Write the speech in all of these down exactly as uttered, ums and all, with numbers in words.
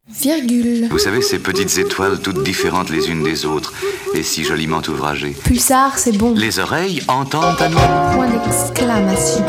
Virgule. Vous savez, ces petites étoiles toutes différentes les unes des autres et si joliment ouvragées. Pulsar, c'est bon. Les oreilles entendent à nous. Point d'exclamation.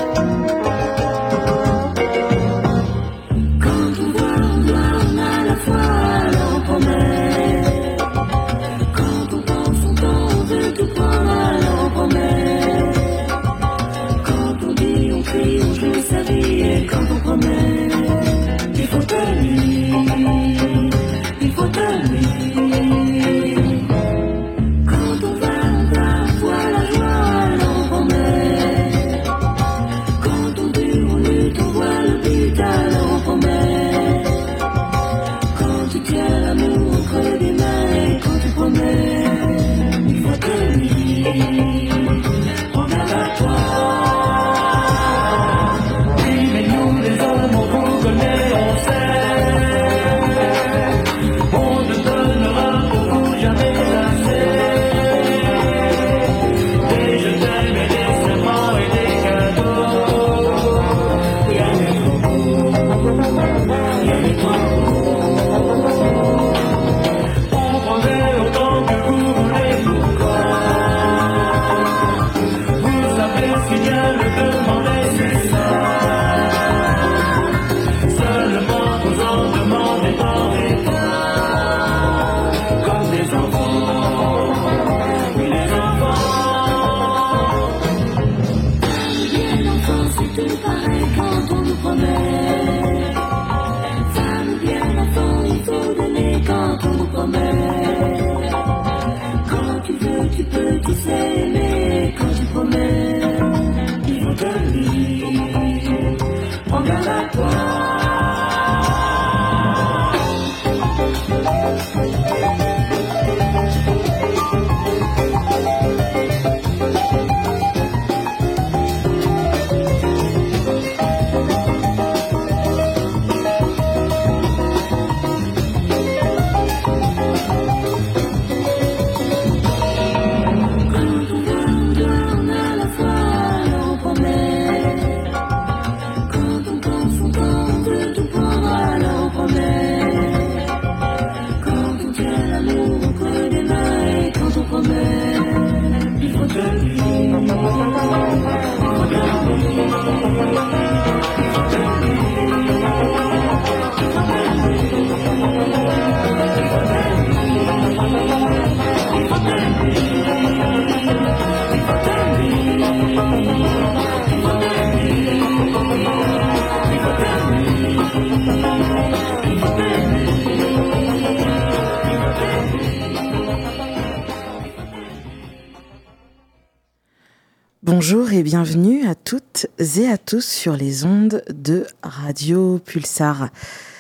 Bonjour et bienvenue à toutes et à tous sur les ondes de Radio Pulsar.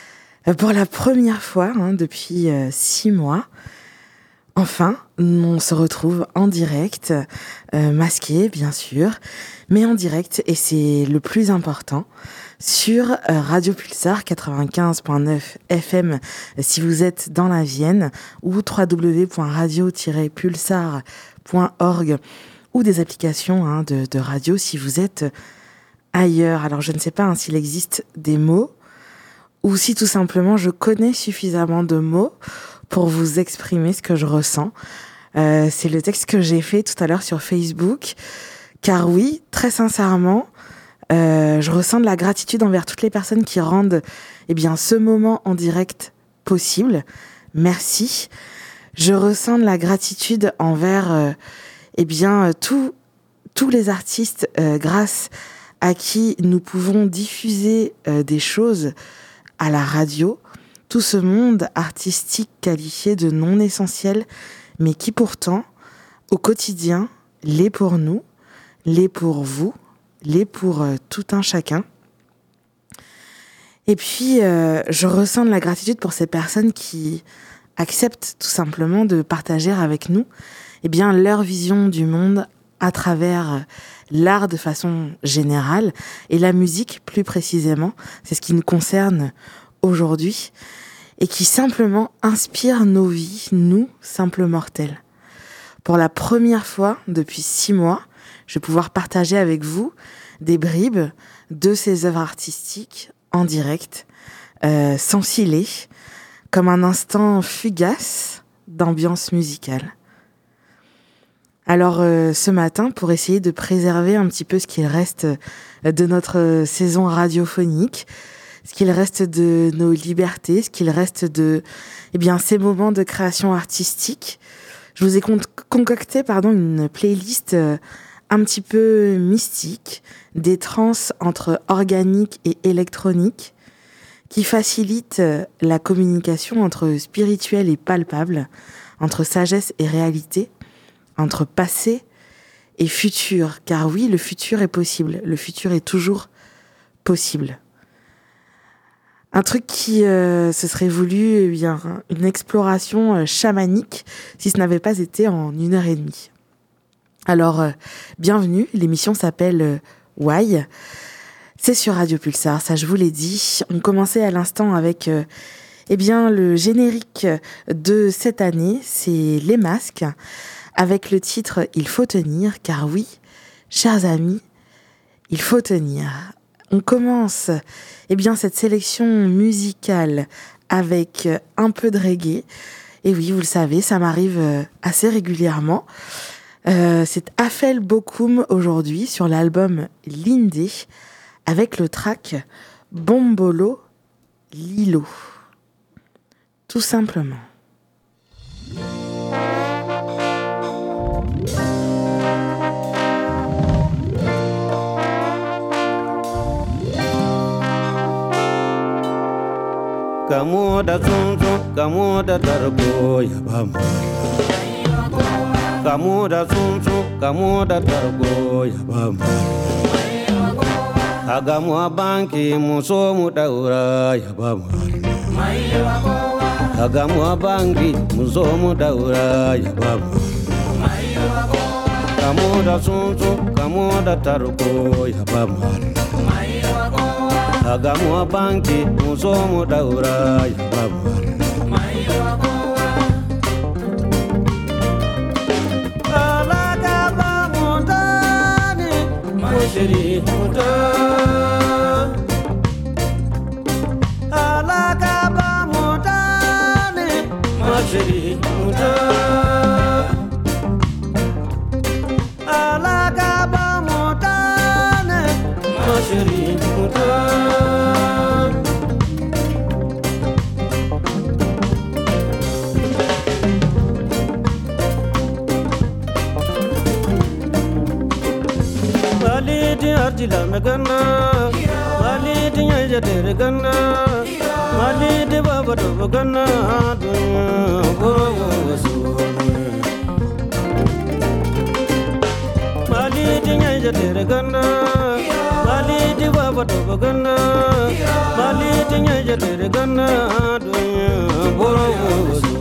Pour la première fois hein, depuis euh, six mois, enfin, on se retrouve en direct, euh, masqué bien sûr, mais en direct, et c'est le plus important, sur euh, Radio Pulsar quatre-vingt-quinze virgule neuf F M si vous êtes dans la Vienne, ou w w w point radio tiret pulsar point org, ou des applications hein, de, de radio si vous êtes ailleurs. Alors je ne sais pas hein, s'il existe des mots ou si tout simplement je connais suffisamment de mots pour vous exprimer ce que je ressens. Euh, c'est le texte que j'ai fait tout à l'heure sur Facebook, car oui, très sincèrement, euh, je ressens de la gratitude envers toutes les personnes qui rendent eh bien, ce moment en direct possible. Merci. Je ressens de la gratitude envers... Euh, Eh bien, tous tous les artistes, euh, grâce à qui nous pouvons diffuser euh, des choses à la radio, tout ce monde artistique qualifié de non essentiel, mais qui pourtant, au quotidien, l'est pour nous, l'est pour vous, l'est pour euh, tout un chacun. Et puis, euh, je ressens de la gratitude pour ces personnes qui acceptent tout simplement de partager avec nous eh bien, leur vision du monde à travers l'art de façon générale et la musique plus précisément. C'est ce qui nous concerne aujourd'hui et qui simplement inspire nos vies, nous, simples mortels. Pour la première fois depuis six mois, je vais pouvoir partager avec vous des bribes de ces œuvres artistiques en direct, euh, sans filet, comme un instant fugace d'ambiance musicale. Alors euh, ce matin, pour essayer de préserver un petit peu ce qu'il reste de notre saison radiophonique, ce qu'il reste de nos libertés, ce qu'il reste de eh bien, ces moments de création artistique, je vous ai con- concocté pardon, une playlist euh, un petit peu mystique, des transes entre organique et électronique, qui facilite la communication entre spirituel et palpable, entre sagesse et réalité, entre passé et futur. Car oui, le futur est possible, le futur est toujours possible. Un truc qui euh, se serait voulu, eh bien, une exploration euh, chamanique, si ce n'avait pas été en une heure et demie. Alors, euh, bienvenue, l'émission s'appelle euh, Why. C'est sur Radio Pulsar, ça je vous l'ai dit. On commençait à l'instant avec euh, eh bien, le générique de cette année, c'est Les Masques, avec le titre « Il faut tenir », car oui, chers amis, il faut tenir. On commence eh bien, cette sélection musicale avec un peu de reggae. Et oui, vous le savez, ça m'arrive assez régulièrement. Euh, c'est Afel Bokoum aujourd'hui sur l'album Lindé, avec le track Bombolo Lilo. Tout simplement. Kamu da sunsun, kamu da tarko ya bamu. Kamu da sunsun, kamu da tarko ya bamu. Hagamu abanki muso mu daura ya bamu. Hagamu abanki muso mu daura ya bamu. Kamu da sunsun, kamu da tarko ya bamu. Hagamu abanki muso mu daura ya bamu. Alaga bamu dani mushiri muda. Alaga bamu dani mushiri muda. Alaga bamu dani mushiri muda. Arjila megana, wali dinya jadere gana, wali de baba do gana, goro wasu. Wali dinya jadere gana, wali de baba do gana, wali dinya jadere gana, goro wasu.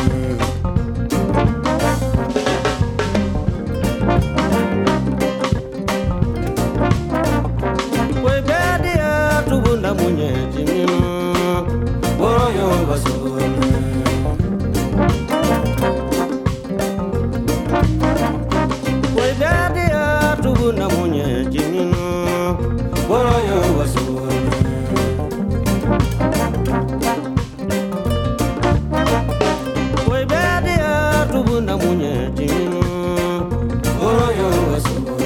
Munye jimino, boro basone. We dadi atu na munye jimino, boro basone. We dadi atu na munye jimino, boro basone.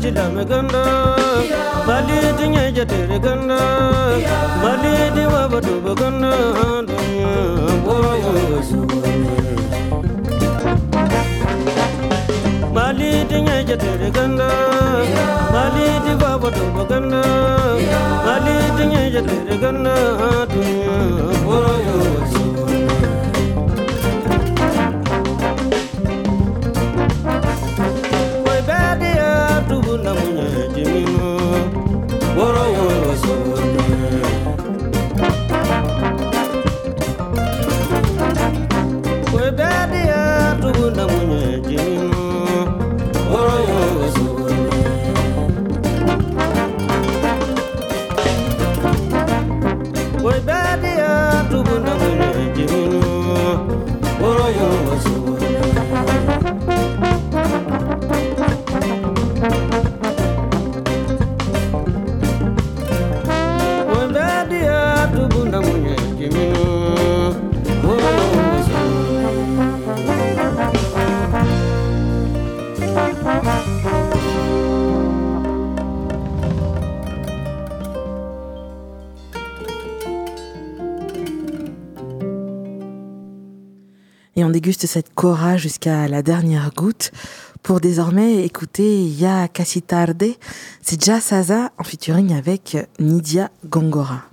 chila me ganda bali tinya jate ganda bali diwa batu ganda bali tinya jate ganda bali diwa batu ganda bali tinya jate ganda Et on déguste cette cora jusqu'à la dernière goutte pour désormais écouter Ya Casi Tarde. C'est Jah Saza en featuring avec Nidia Gongora.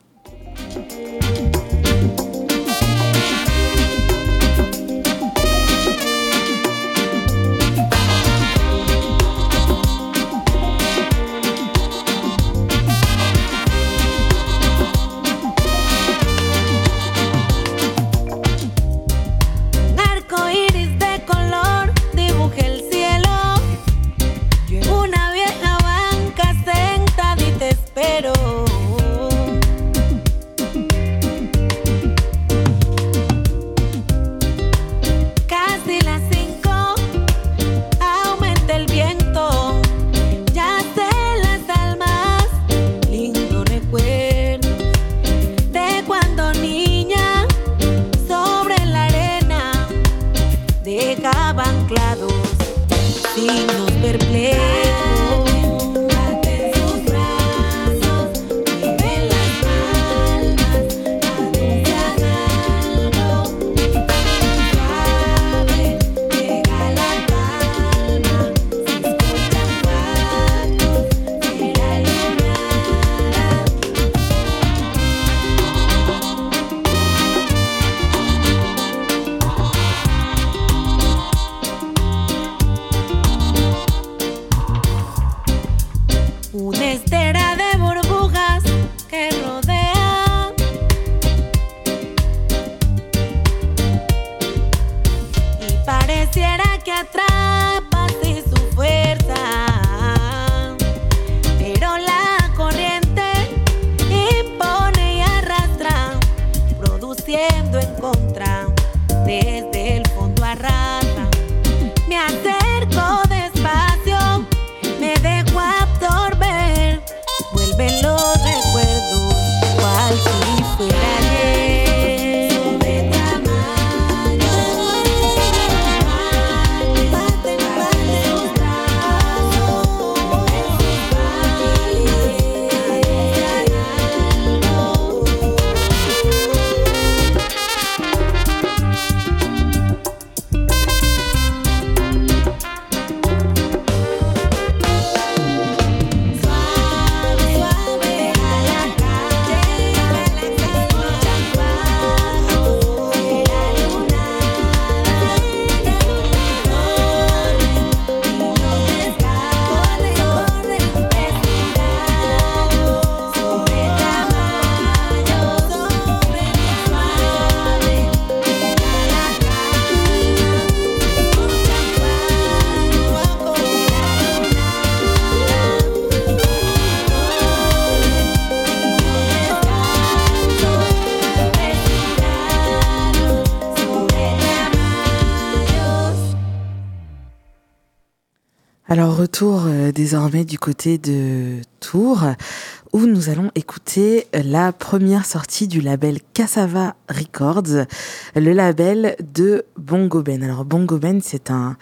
Alors retour euh, désormais du côté de Tours où nous allons écouter la première sortie du label Cassava Records, le label de Bongo Ben. Alors Bongo Ben, c'est un,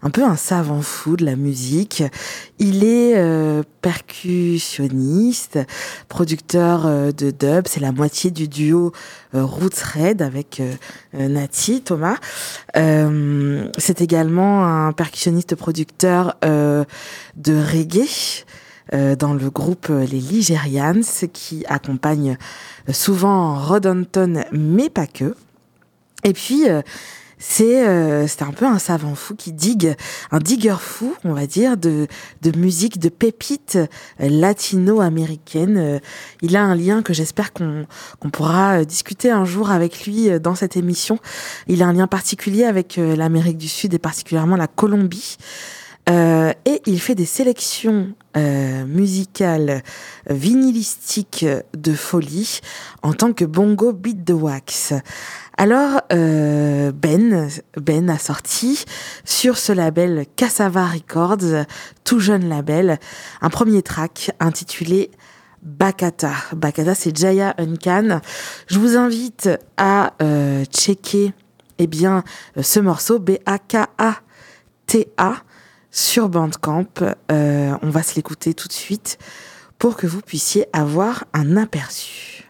un peu un savant fou de la musique. Il est euh, percussionniste, producteur euh, de dub. C'est la moitié du duo euh, Roots Red avec euh, euh, Nati, Thomas. Euh, c'est également un percussionniste producteur euh, de reggae euh, dans le groupe Les Ligerians qui accompagne souvent Rod Anton, mais pas que. Et puis, euh, c'est euh, c'est un peu un savant fou qui digue, un digger fou, on va dire, de de musique, de pépites euh, latino-américaines. Euh, il a un lien que j'espère qu'on qu'on pourra euh, discuter un jour avec lui euh, dans cette émission. Il a un lien particulier avec euh, l'Amérique du Sud et particulièrement la Colombie. Euh, et il fait des sélections euh, musicales euh, vinylistiques de folie en tant que bongo beat the wax. Alors euh, Ben Ben a sorti sur ce label Cassava Records, tout jeune label, un premier track intitulé Bacata. Bacata, c'est Jaya Uncan. Je vous invite à euh, checker eh bien ce morceau B A K A T A sur Bandcamp. Euh, on va se l'écouter tout de suite pour que vous puissiez avoir un aperçu.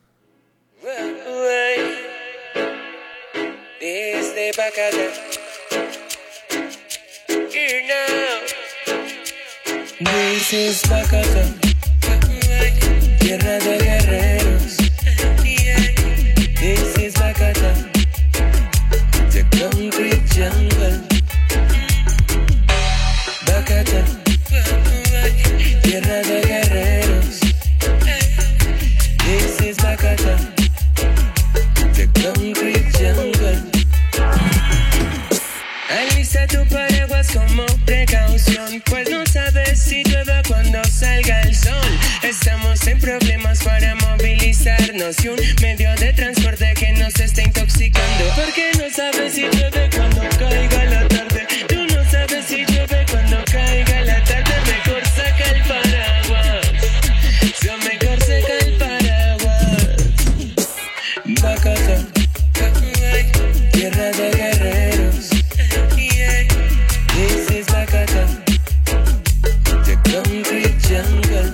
This is Bacata, tierra de guerreros. This is Bacata, the concrete jungle. Bacata, tierra de guerreros. This is Bacata, the concrete jungle. Alista tu paraguas como precaución, pues no sabes si llueve cuando salga el sol. Estamos en problemas para movilizarnos y un medio de transporte que nos está intoxicando. Porque no sabes si llueve cuando caiga la tarde. Tú no sabes si llueve cuando caiga la tarde. Mejor saca el paraguas. Yo mejor saca el paraguas. Bacata, tierra de guerreros. This is Bacata, the concrete jungle.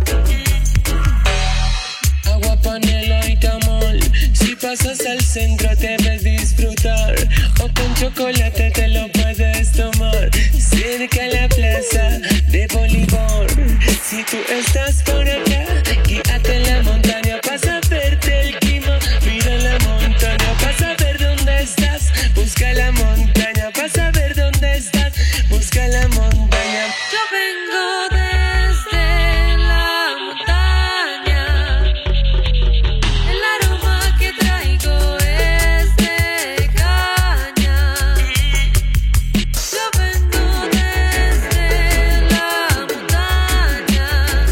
Agua, panela y tamal. Si pasas al centro debes disfrutar. O con chocolate te lo puedes tomar. Cerca a la plaza de Bolívar. Si tú estás por acá, guíate en la montaña. Pasa a verte el clima. Mira la montaña. Pasa a ver dónde estás. Busca la montaña. Pasa a ver dónde estás. Busca la montaña. Yo vengo desde la montaña. El aroma que traigo es de caña. Yo vengo desde la montaña.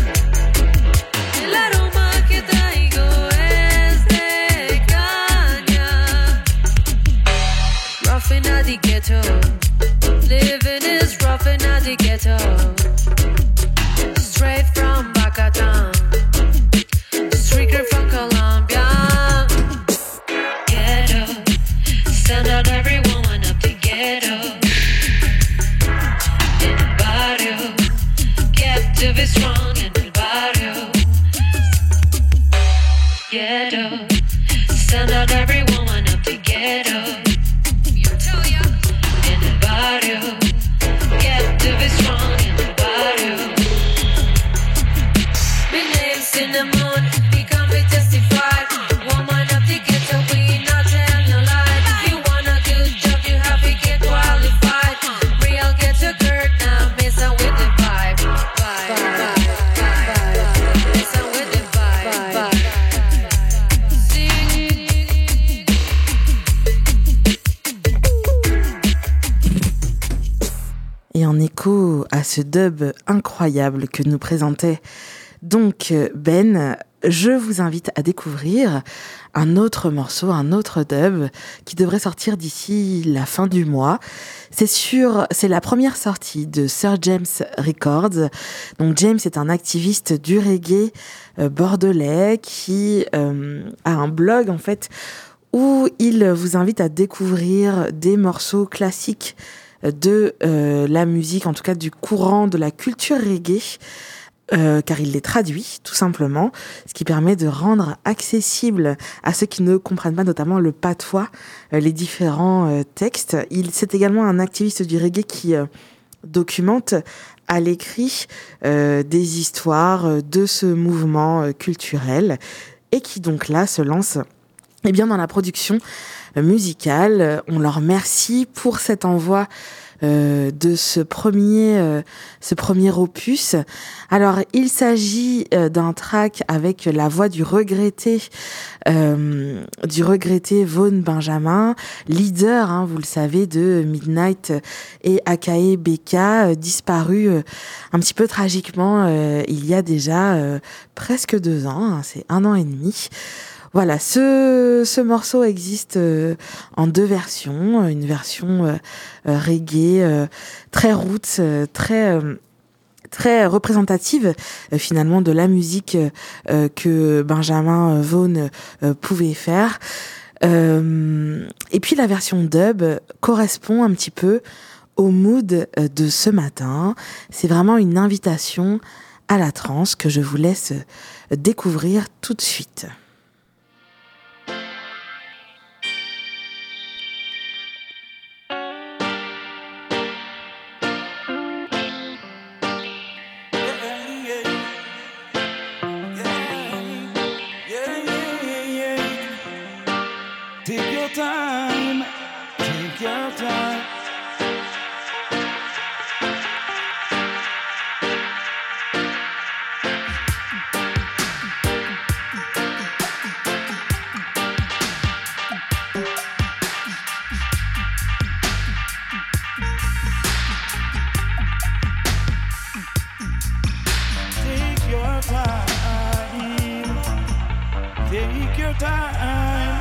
El aroma que traigo es de caña. Roughing at the ghetto. Living is rough in the ghetto. Straight from Bacata, street girl from Colombia. Ghetto, send out every woman up the ghetto. In el barrio, get to be strong in el barrio. Ghetto, send out every woman up the ghetto. Get to be strong in the barrio. My name's Cinnamon, become be testified. Woman of the ghetto, we not tell your lie. You want a good job, you have to get qualified. Real ghetto girl, now messing with the vibe. Vibe, vibe, vibe. Messing with the vibe, vibe. Et en écho à ce dub incroyable que nous présentait donc Ben, je vous invite à découvrir un autre morceau, un autre dub qui devrait sortir d'ici la fin du mois. C'est sur, c'est la première sortie de Sir James Records. Donc James est un activiste du reggae euh, bordelais qui euh, a un blog en fait où il vous invite à découvrir des morceaux classiques de euh, la musique, en tout cas du courant de la culture reggae, euh, car il les traduit tout simplement, ce qui permet de rendre accessible à ceux qui ne comprennent pas notamment le patois euh, les différents euh, textes. Il c'est également un activiste du reggae qui euh, documente à l'écrit euh, des histoires de ce mouvement euh, culturel et qui donc là se lance eh bien, dans la production euh, musicale. On leur remercie pour cet envoi euh, de ce premier, euh, ce premier opus. Alors, il s'agit euh, d'un track avec la voix du regretté, euh, du regretté Vaughn Benjamin, leader, hein, vous le savez, de Midnight et Akae Beka, euh, disparu euh, un petit peu tragiquement euh, il y a déjà euh, presque deux ans, hein, c'est un an et demi. Voilà, ce, ce morceau existe euh, en deux versions, une version euh, euh, reggae euh, très roots, euh, très euh, très représentative euh, finalement de la musique euh, que Benjamin Vaughn euh, pouvait faire. Euh, et puis la version dub correspond un petit peu au mood euh, de ce matin. C'est vraiment une invitation à la trance que je vous laisse découvrir tout de suite. Time, take your time. Take your time. Take your time.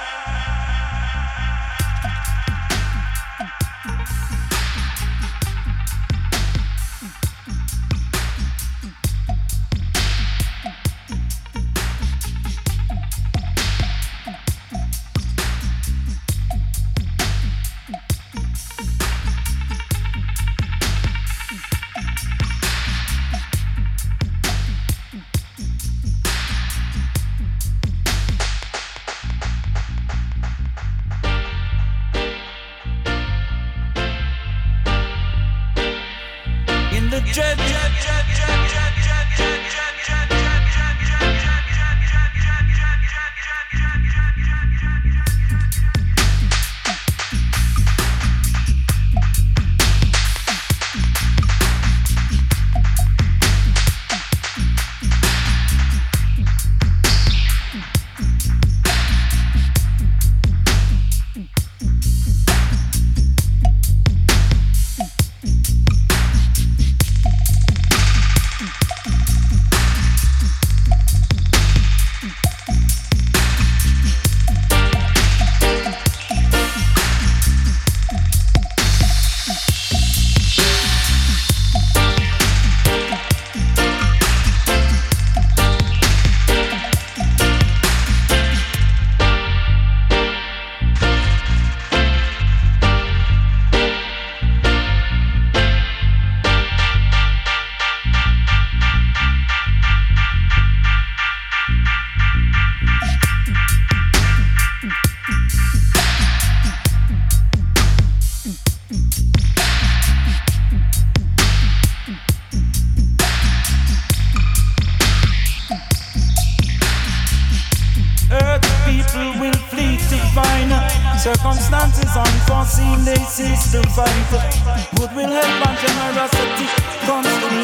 Circumstances unforeseen, they cease to fight. Goodwill, help and generosity comes to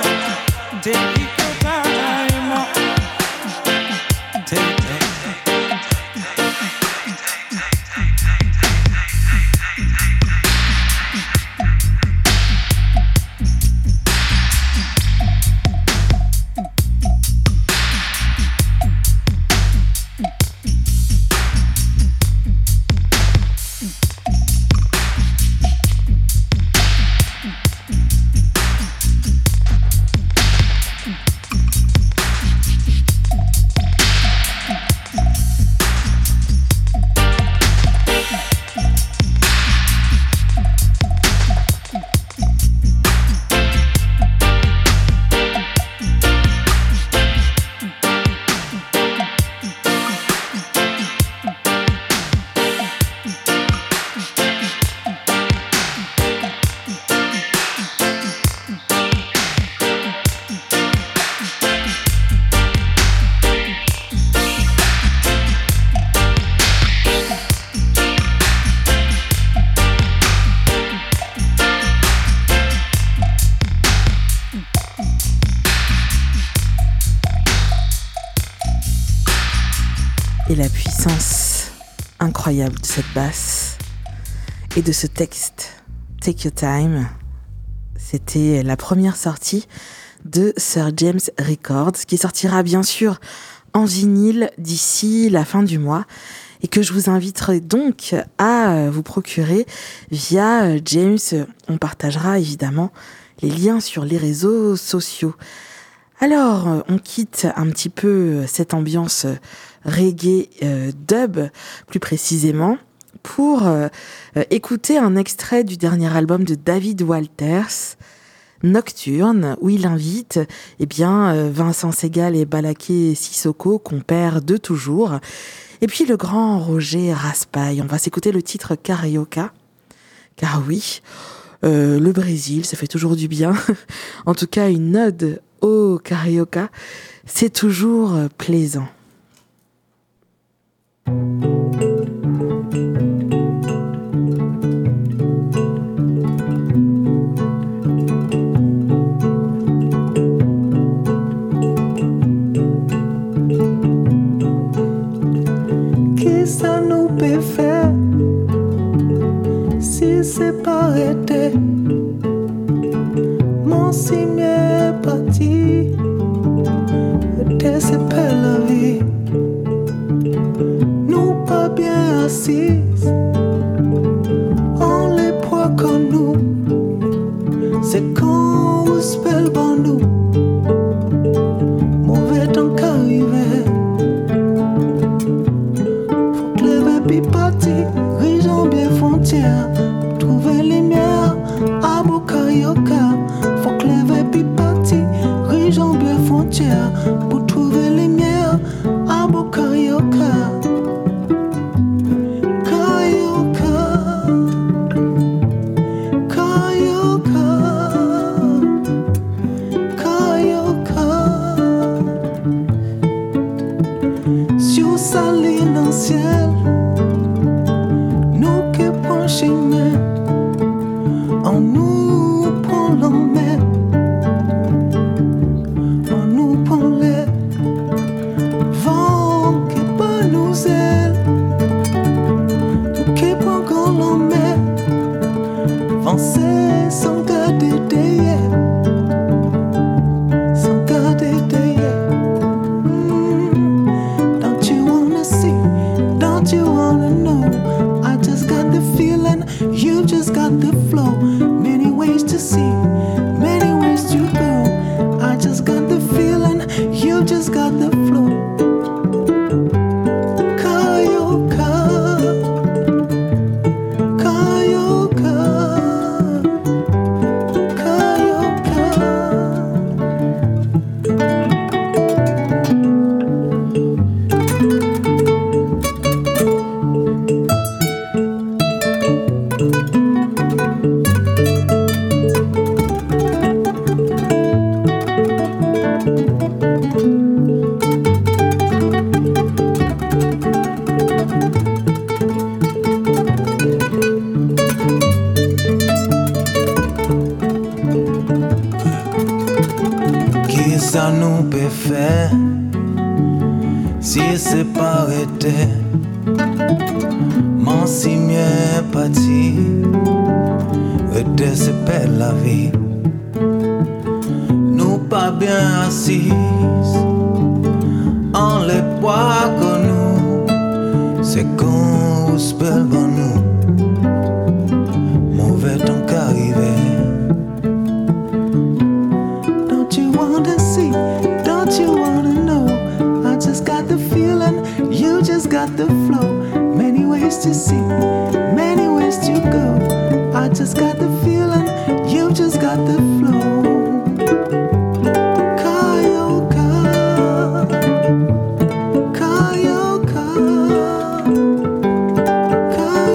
light. Take your time. Take your time. Mm-hmm. Et la puissance incroyable de cette basse et de ce texte, Take Your Time, c'était la première sortie de Sir James Records, qui sortira bien sûr en vinyle d'ici la fin du mois et que je vous inviterai donc à vous procurer via James. On partagera évidemment les liens sur les réseaux sociaux. Alors, on quitte un petit peu cette ambiance reggae euh, dub, plus précisément, pour euh, écouter un extrait du dernier album de David Walters, Nocturne, où il invite eh bien, euh, Vincent Segal et Balaké Sissoko, compères de toujours, et puis le grand Roger Raspail. On va s'écouter le titre Carioca, car oui, euh, le Brésil, ça fait toujours du bien. En tout cas, une ode au Carioca, c'est toujours plaisant. Qui ça nous peut faire si c'est pas arrêté? Mon cime est parti, était c'est pas la vie. Nous pas bien assises, on les poids comme nous. C'est quand on spell bon nous, mauvais temps qu'arriver. Faut que les bébés partis, région bien frontière, trouver les lumières à Bocarioca. Faut que les bébés partis, région bien frontière, pour trouver les lumières à Bocarioca. Nous qui penchons, on nous prend l'emmène, on nous prend les vents qui pas nous ailes, nous qui prend qu'on l'emmène, avancer sans garder derrière, sans garder derrière. Don't you wanna see? Don't you wanna know? I just got the feeling, you just got the flow. Many ways to see, many ways to go. I just got the feeling, you just got the flow. Carioca, Carioca, Carioca. Qui ça nous peut faire si c'est pas arrêté? Mon cime est parti, était c'est pas la vie. Nous pas bien assises, on les poids que nous, c'est qu'on spell bon nous, mauvais temps qu'arriver. Don't you wanna see? Don't you wanna know? I just got the feeling, you just got the flow. Many ways to see, many ways to go. I just got the feeling, you just got the flow. Carioca, Carioca, Carioca.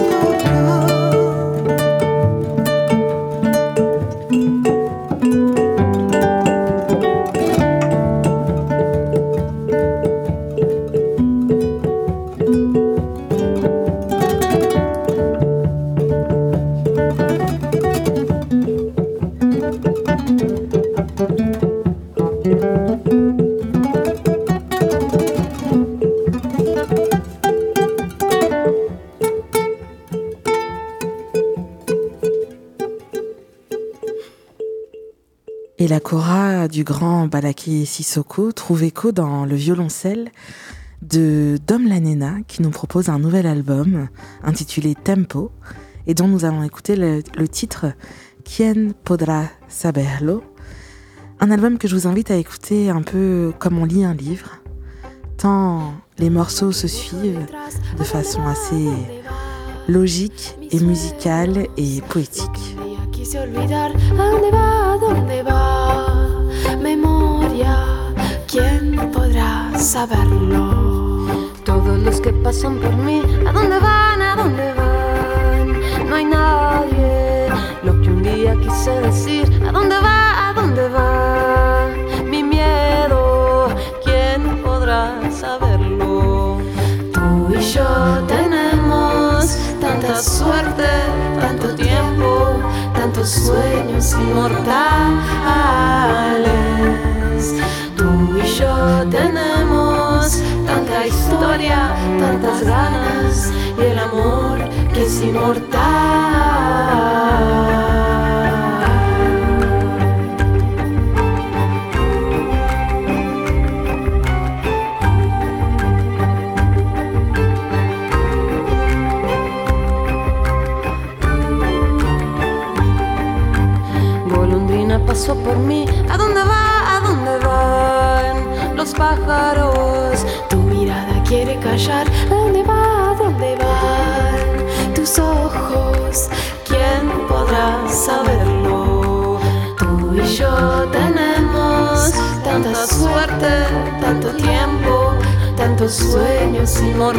du grand Balaké Sissoko trouve écho dans le violoncelle de Dom Lanena qui nous propose un nouvel album intitulé Tempo et dont nous allons écouter le, le titre Quien podrá saberlo, un album que je vous invite à écouter un peu comme on lit un livre, tant les morceaux se suivent de façon assez logique et musicale et poétique. Quise olvidar a dónde va, a dónde va. Memoria, ¿quién podrá saberlo? Todos los que pasan por mí, ¿a dónde van, a dónde van? No hay nadie. Lo que un día quise decir, ¿a dónde va, a dónde va? Mi miedo, ¿quién podrá saberlo? Tú y yo tenemos tanta suerte, tanto tiempo, tantos sueños inmortales. Tú y yo tenemos tanta historia, tantas ganas y el amor que es inmortal. Pasó por mí, ¿a dónde va, a dónde van los pájaros? Tu mirada quiere callar, ¿a dónde va, a dónde van tus ojos? ¿Quién podrá saberlo? Tú y yo tenemos tanta suerte, tanto tiempo, tantos sueños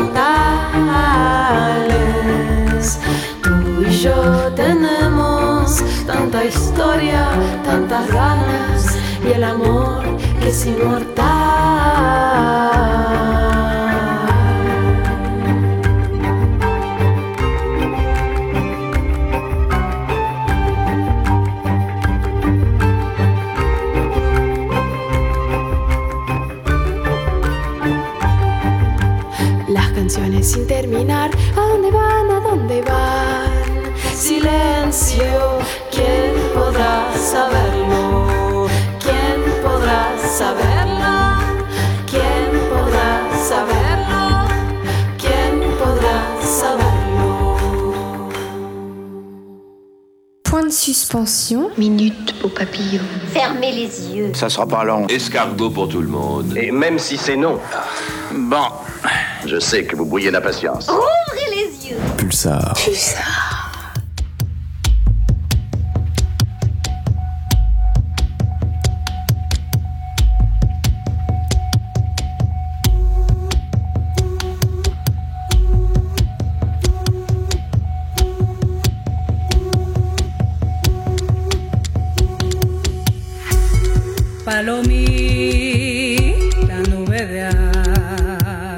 inmortales. Tú y yo tenemos tanta historia, tantas ganas y el amor que es inmortal. Las canciones sin terminar, ¿a dónde van, a dónde van? Silencio, ¿quién podrá saberlo? ¿Quién podrá saberlo? ¿Quién podrá saberlo? ¿Quién podrá saberlo? Point de suspension. Minute au papillon. Fermez les yeux. Ça sera pas long. Escargot pour tout le monde. Et même si c'est non. Bon, je sais que vous brouillez d'impatience. Ouvrez les yeux. Pulsar. Pulsar. Palomita, nube de agua.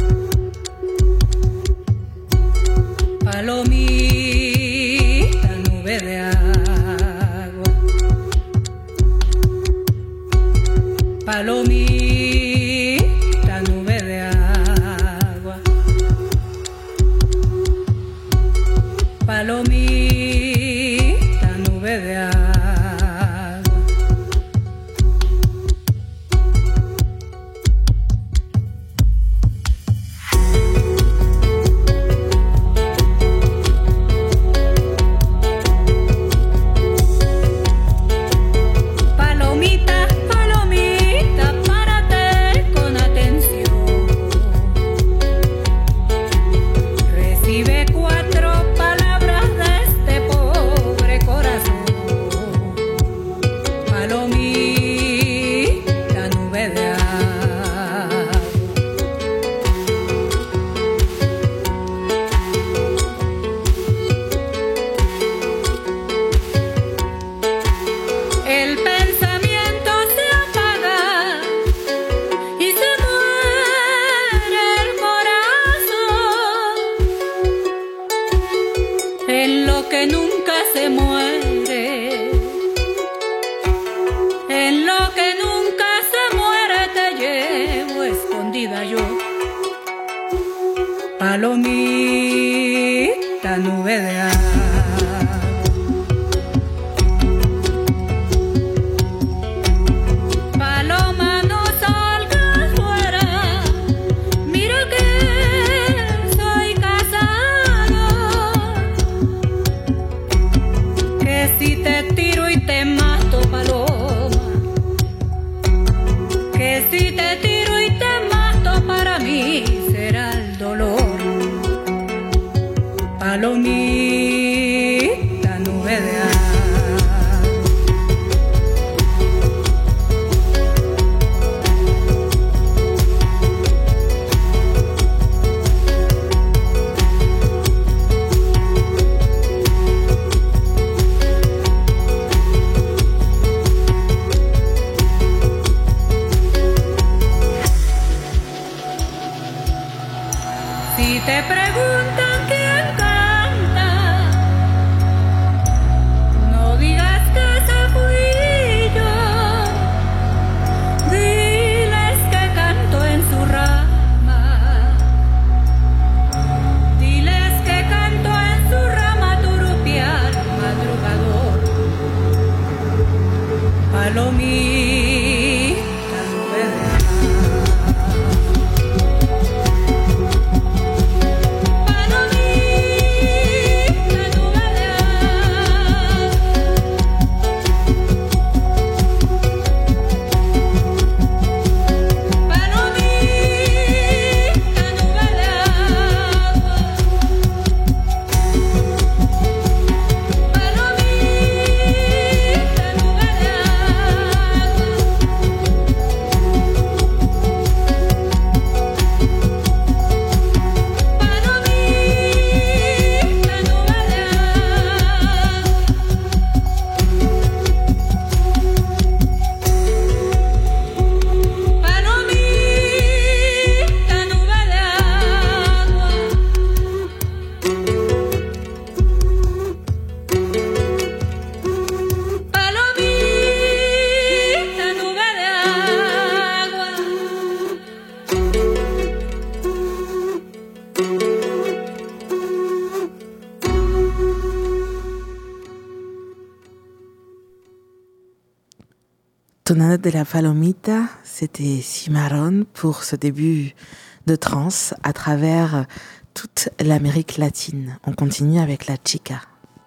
Palomita, nube de agua. Palomita, nube de agua. Palomita, nube de agua. Palomita, nube de agua. Si te tiro y te mato, para mí será el dolor. Palomita, nube de agua. Si te preguntan quién canta, no digas que esa fui yo. Diles que canto en su rama. Diles que canto en su rama turupial madrugador. Palomita, nube de Tonada de la Palomita, c'était Cimarron pour ce début de trance à travers toute l'Amérique latine. On continue avec la chica.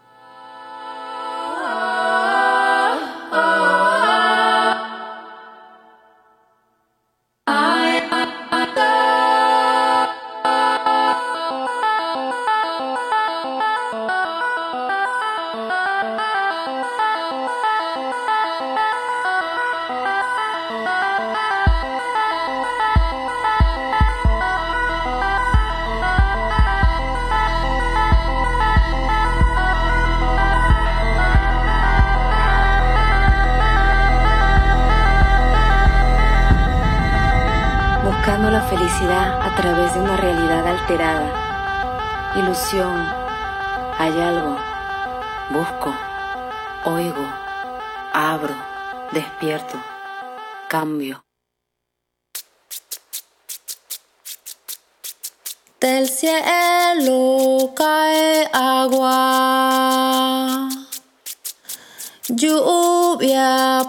Buscando la felicidad a través de una realidad alterada. Ilusión, hay algo. Busco, oigo, abro, despierto, cambio. Del cielo cae agua, lluvia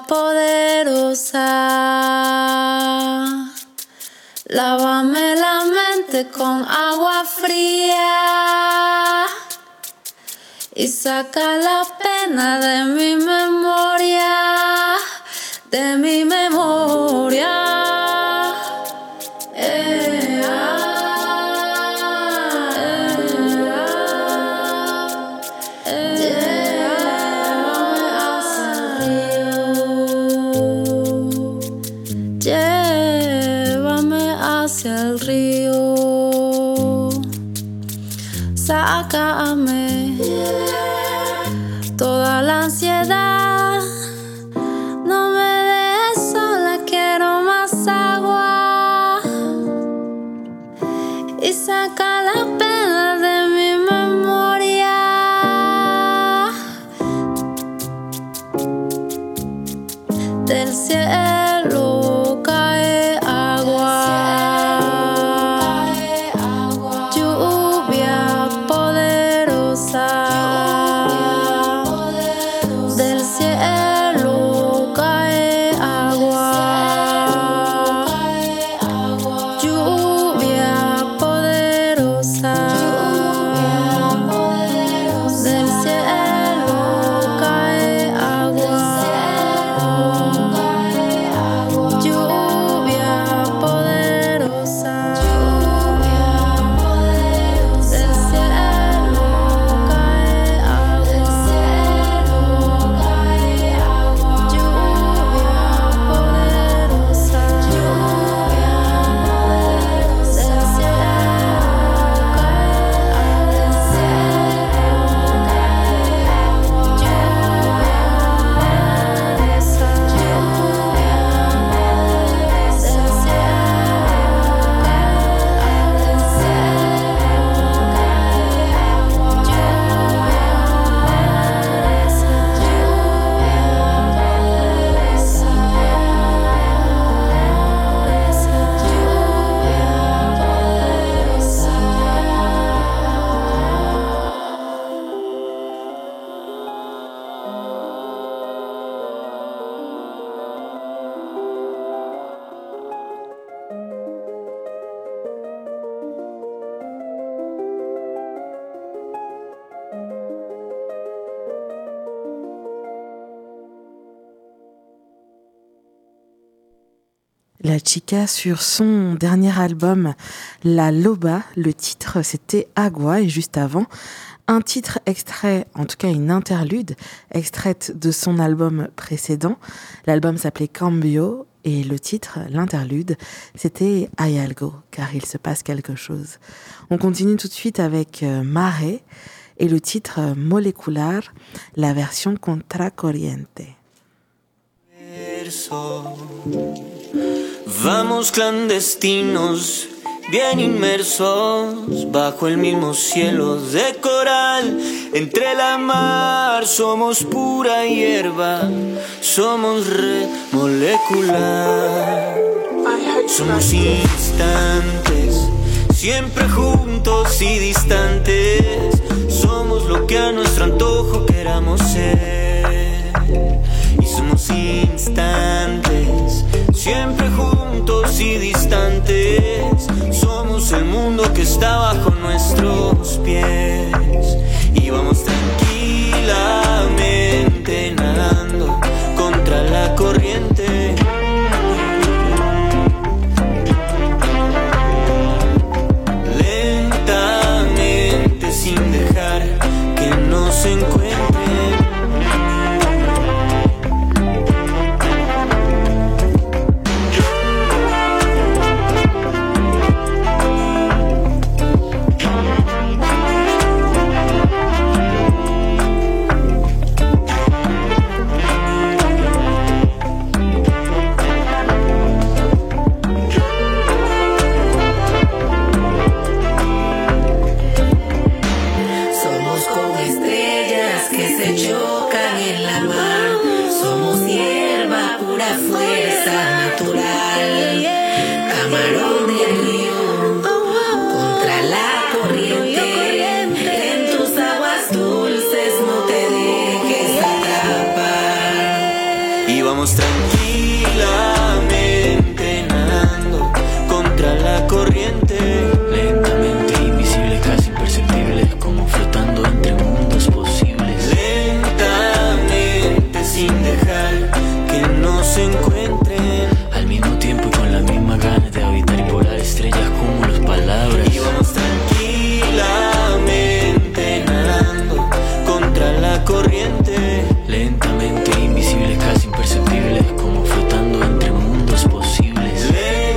poderosa. Lávame la mente con agua fría y saca la pena de mi memoria, de mi memoria. Eh, ah, eh, ah, eh, llévame hacia el río, sácame toda la ansiedad, no me dejes sola, quiero más agua y saca la pena de mi memoria. Del cielo cae agua, lluvia poderosa. Del cielo cae agua, lluvia poderosa. La Chica sur son dernier album La Loba. Le titre c'était Agua et juste avant un titre extrait, en tout cas une interlude extraite de son album précédent. L'album s'appelait Cambio et le titre, l'interlude, c'était Hay algo, car il se passe quelque chose. On continue tout de suite avec Mare et le titre Molecular, la version Contracorriente. Vamos clandestinos, bien inmersos bajo el mismo cielo de coral. Entre la mar somos pura hierba, somos red molecular. Somos instantes, siempre juntos y distantes. Somos lo que a nuestro antojo queramos ser. Y somos instantes, siempre juntos y distantes. Somos el mundo que está bajo nuestros pies. Y vamos tranquilamente nadando contra la corriente. Lentamente sin dejar que nos encuentren. Vamos tranquilamente nadando contra la corriente. Lentamente invisibles, casi imperceptibles, como flotando entre mundos posibles. Lentamente sin dejar que nos encuentren. Al mismo tiempo y con la misma ganas de habitar y volar estrellas como las palabras. Y vamos tranquilamente nadando contra la corriente. Lentamente invisibles, casi imperceptibles, como flotando entre mundos posibles.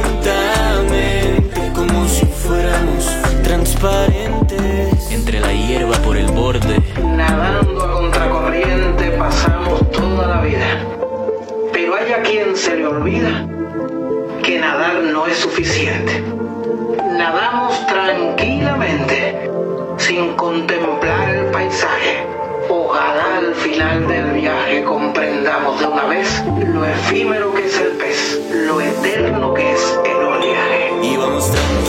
Lentamente, como si fuéramos transparentes. Entre la hierba por el borde. Nadando a contracorriente pasamos toda la vida. Pero hay a quien se le olvida que nadar no es suficiente. Nadamos tranquilamente, sin contemplar el paisaje. Ojalá al final del viaje comprendamos de una vez lo efímero que es el pez, lo eterno que es el oleaje. Y vamos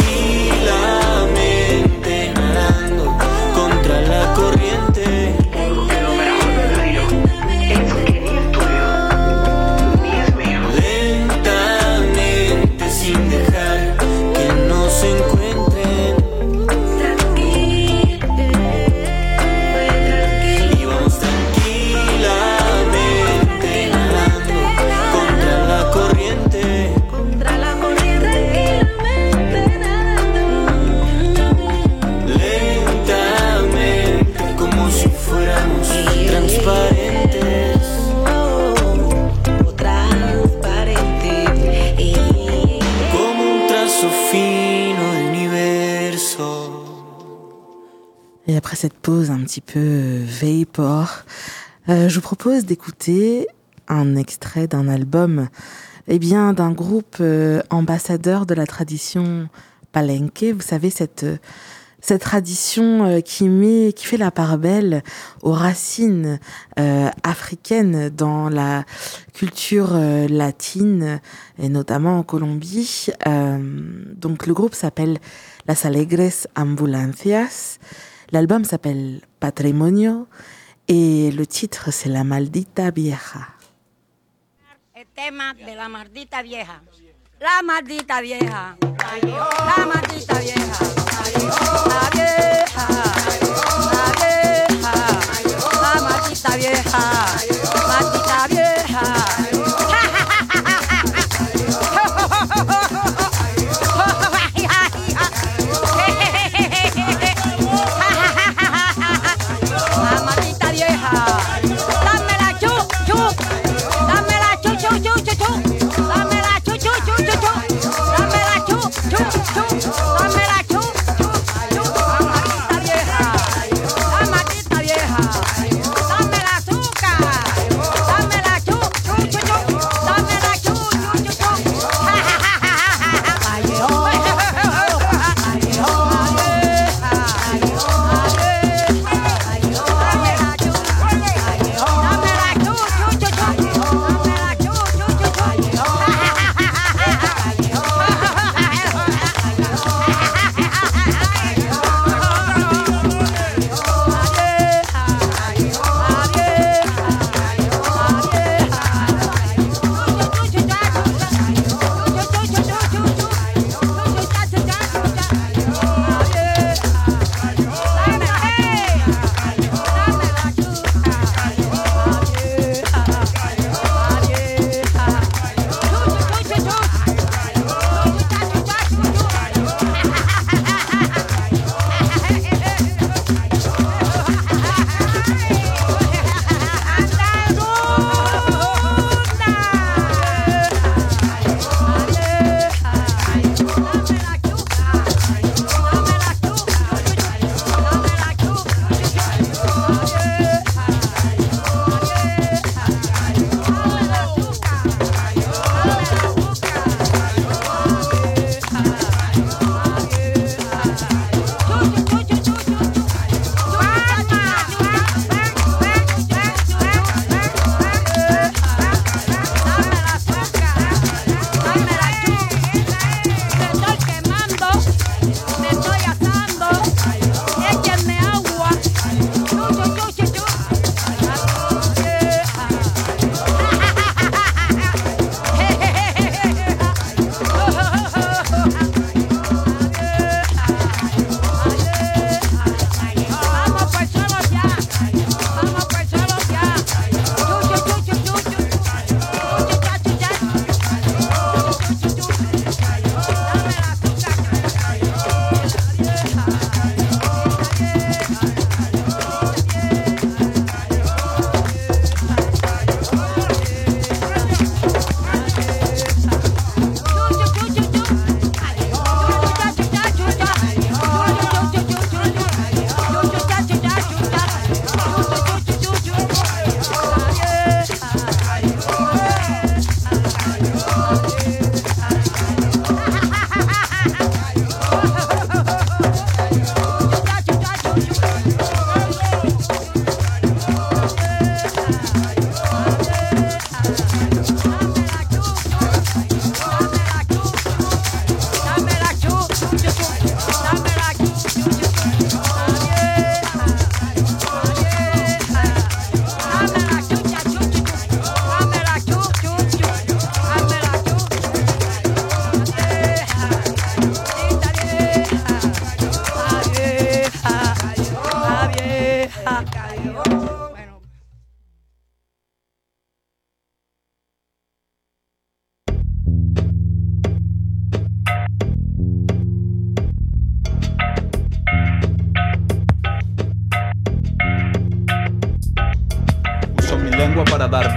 tranquilamente nadando contra la corriente. Porque lo mejor del río es que ni es tuyo, ni es mío. Lentamente sin dejar que nos encuentren. Et après cette pause un petit peu vapor, euh, je vous propose d'écouter un extrait d'un album, eh bien, d'un groupe euh, ambassadeur de la tradition palenque. Vous savez, cette, cette tradition euh, qui met, qui fait la part belle aux racines euh, africaines dans la culture euh, latine, et notamment en Colombie. Euh, donc, le groupe s'appelle Las Alegres Ambulancias. L'album s'appelle Patrimonio et le titre c'est La Maldita Vieja. El tema de la maldita vieja. La maldita vieja. La maldita vieja. La vieja. La vieja. La maldita vieja. Maldita vieja.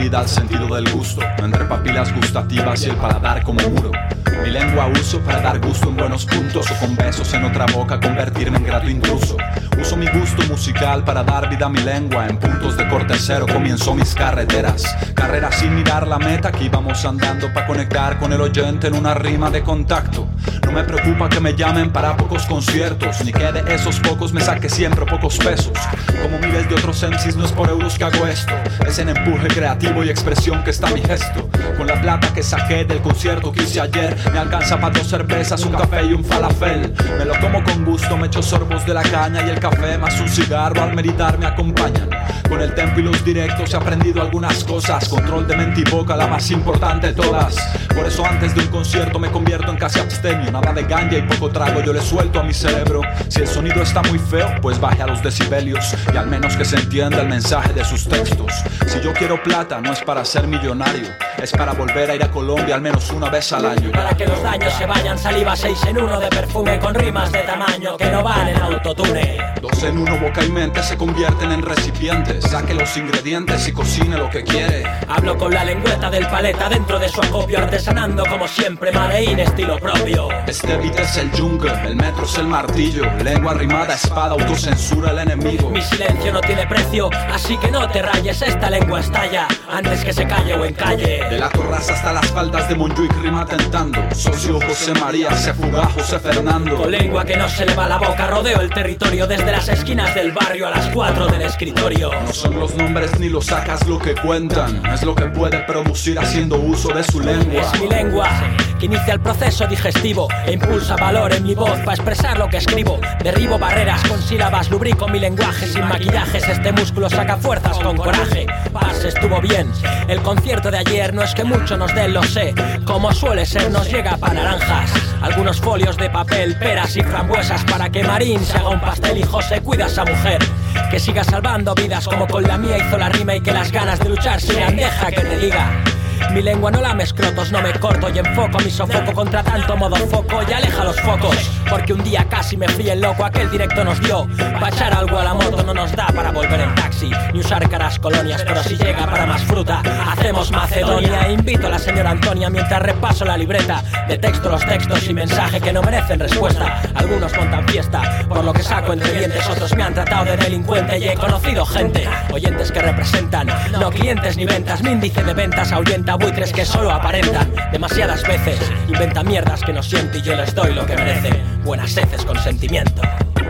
vida al sentido del gusto, entre papilas gustativas y el paladar como muro. Mi lengua uso para dar gusto en buenos puntos, o con besos en otra boca convertirme en grato intruso. Uso mi gusto musical para dar vida a mi lengua. En puntos de corte cero comienzo mis carreteras. Carreras sin mirar la meta, que íbamos andando para conectar con el oyente en una rima de contacto. No me preocupa que me llamen para pocos conciertos, ni que de esos pocos me saque siempre pocos pesos. Como miles de otros M Cs no es por euros que hago esto, es en empuje creativo y expresión que está mi gesto. Con la plata que saqué del concierto que hice ayer, me alcanza para dos cervezas, un café y un falafel. Me lo como con gusto, me echo sorbos de la caña y el café más un cigarro al meditar me acompañan. Con el tempo y los directos he aprendido algunas cosas, control de mente y boca, la más importante de todas. Por eso antes de un concierto me convierto en casi abstemio, nada de ganja y poco trago yo le suelto a mi cerebro. Si el sonido está muy feo, pues baje a los decibelios y al menos que se entienda el mensaje de sus textos. Si yo quiero plata no es para ser millonario, es para volver a ir a Colombia al menos una vez al año. Para que los daños se vayan, saliva seis en uno de perfume con rimas de tamaño que no van en autotune. Dos en uno, boca y mente se convierten en recipientes. Saque los ingredientes y cocine lo que quiere. Hablo con la lengüeta del paleta dentro de su acopio, artesanando como siempre, Madein estilo propio. Este beat es el yunque, el metro es el martillo. Lengua rimada, espada, autocensura el enemigo. Mi silencio no tiene precio, así que no te rayes, esta lengua estalla antes que se calle o encalle. De la Torraza hasta las faldas de Montjuic rima tentando. Socio José María, se fuga José Fernando. Con lengua que no se le va la boca, rodeo el territorio desde las esquinas del barrio a las cuatro del escritorio. No son los nombres ni los sacas lo que cuentan, es lo que puede producir haciendo uso de su lengua. Es mi lengua que inicia el proceso digestivo e impulsa valor en mi voz para expresar lo que escribo. Derribo barreras con sílabas, lubrico mi lenguaje sin maquillajes. Este músculo saca fuerzas con coraje. Paz, estuvo bien. El concierto de ayer no es que mucho nos den, lo sé. Como suele ser, nos llega para naranjas. Algunos folios de papel, peras y frambuesas para que Marín se haga un pastel y José cuida a esa mujer. Que siga salvando vidas como con la mía hizo la rima y que las ganas de luchar sigan, deja que te diga. Mi lengua no lame escrotos, no me corto y enfoco mi sofoco contra tanto modo foco y aleja los focos. Porque un día casi me fríe el loco, aquel directo nos dio. Pa' echar algo a la moto no nos da para volver en taxi, ni usar caras colonias, pero si llega para más fruta, hacemos Macedonia. Invito a la señora Antonia mientras repaso la libreta de texto, los textos y mensaje que no merecen respuesta. Algunos montan fiesta por lo que saco entre dientes, otros me han tratado de delincuente y he conocido gente, oyentes que representan, no clientes ni ventas. Mi índice de ventas ahuyenta buitres que solo aparentan. Demasiadas veces inventa mierdas que no siento y yo les doy lo que merecen. Buenas heces con sentimiento.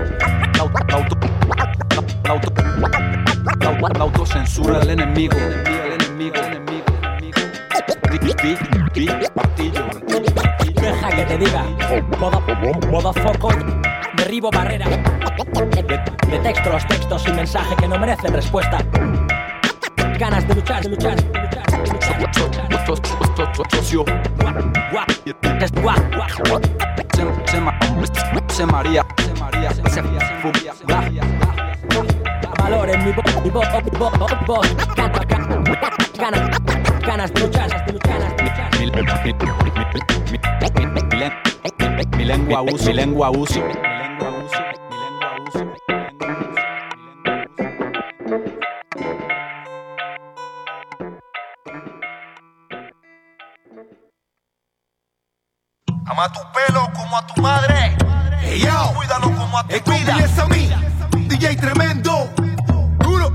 La autocensura del enemigo. El enemigo, el enemigo, Deja que te diga. Modo, modo foco. Derribo barreras. De, de texto los textos y mensaje que no merecen respuesta. Ganas de luchar, de luchar, de luchar. Socio Se María, Se María, Se María, valor en mi voz, mi voz, voz, voz, ganas, ganas de luchar, de luchar, de luchar. Mi lengua uso, mi lengua uso. Ama a tu pelo como a tu madre. Hey, yo, cuídalo como a tu vida. Empieza a mí, D J tremendo. Duro.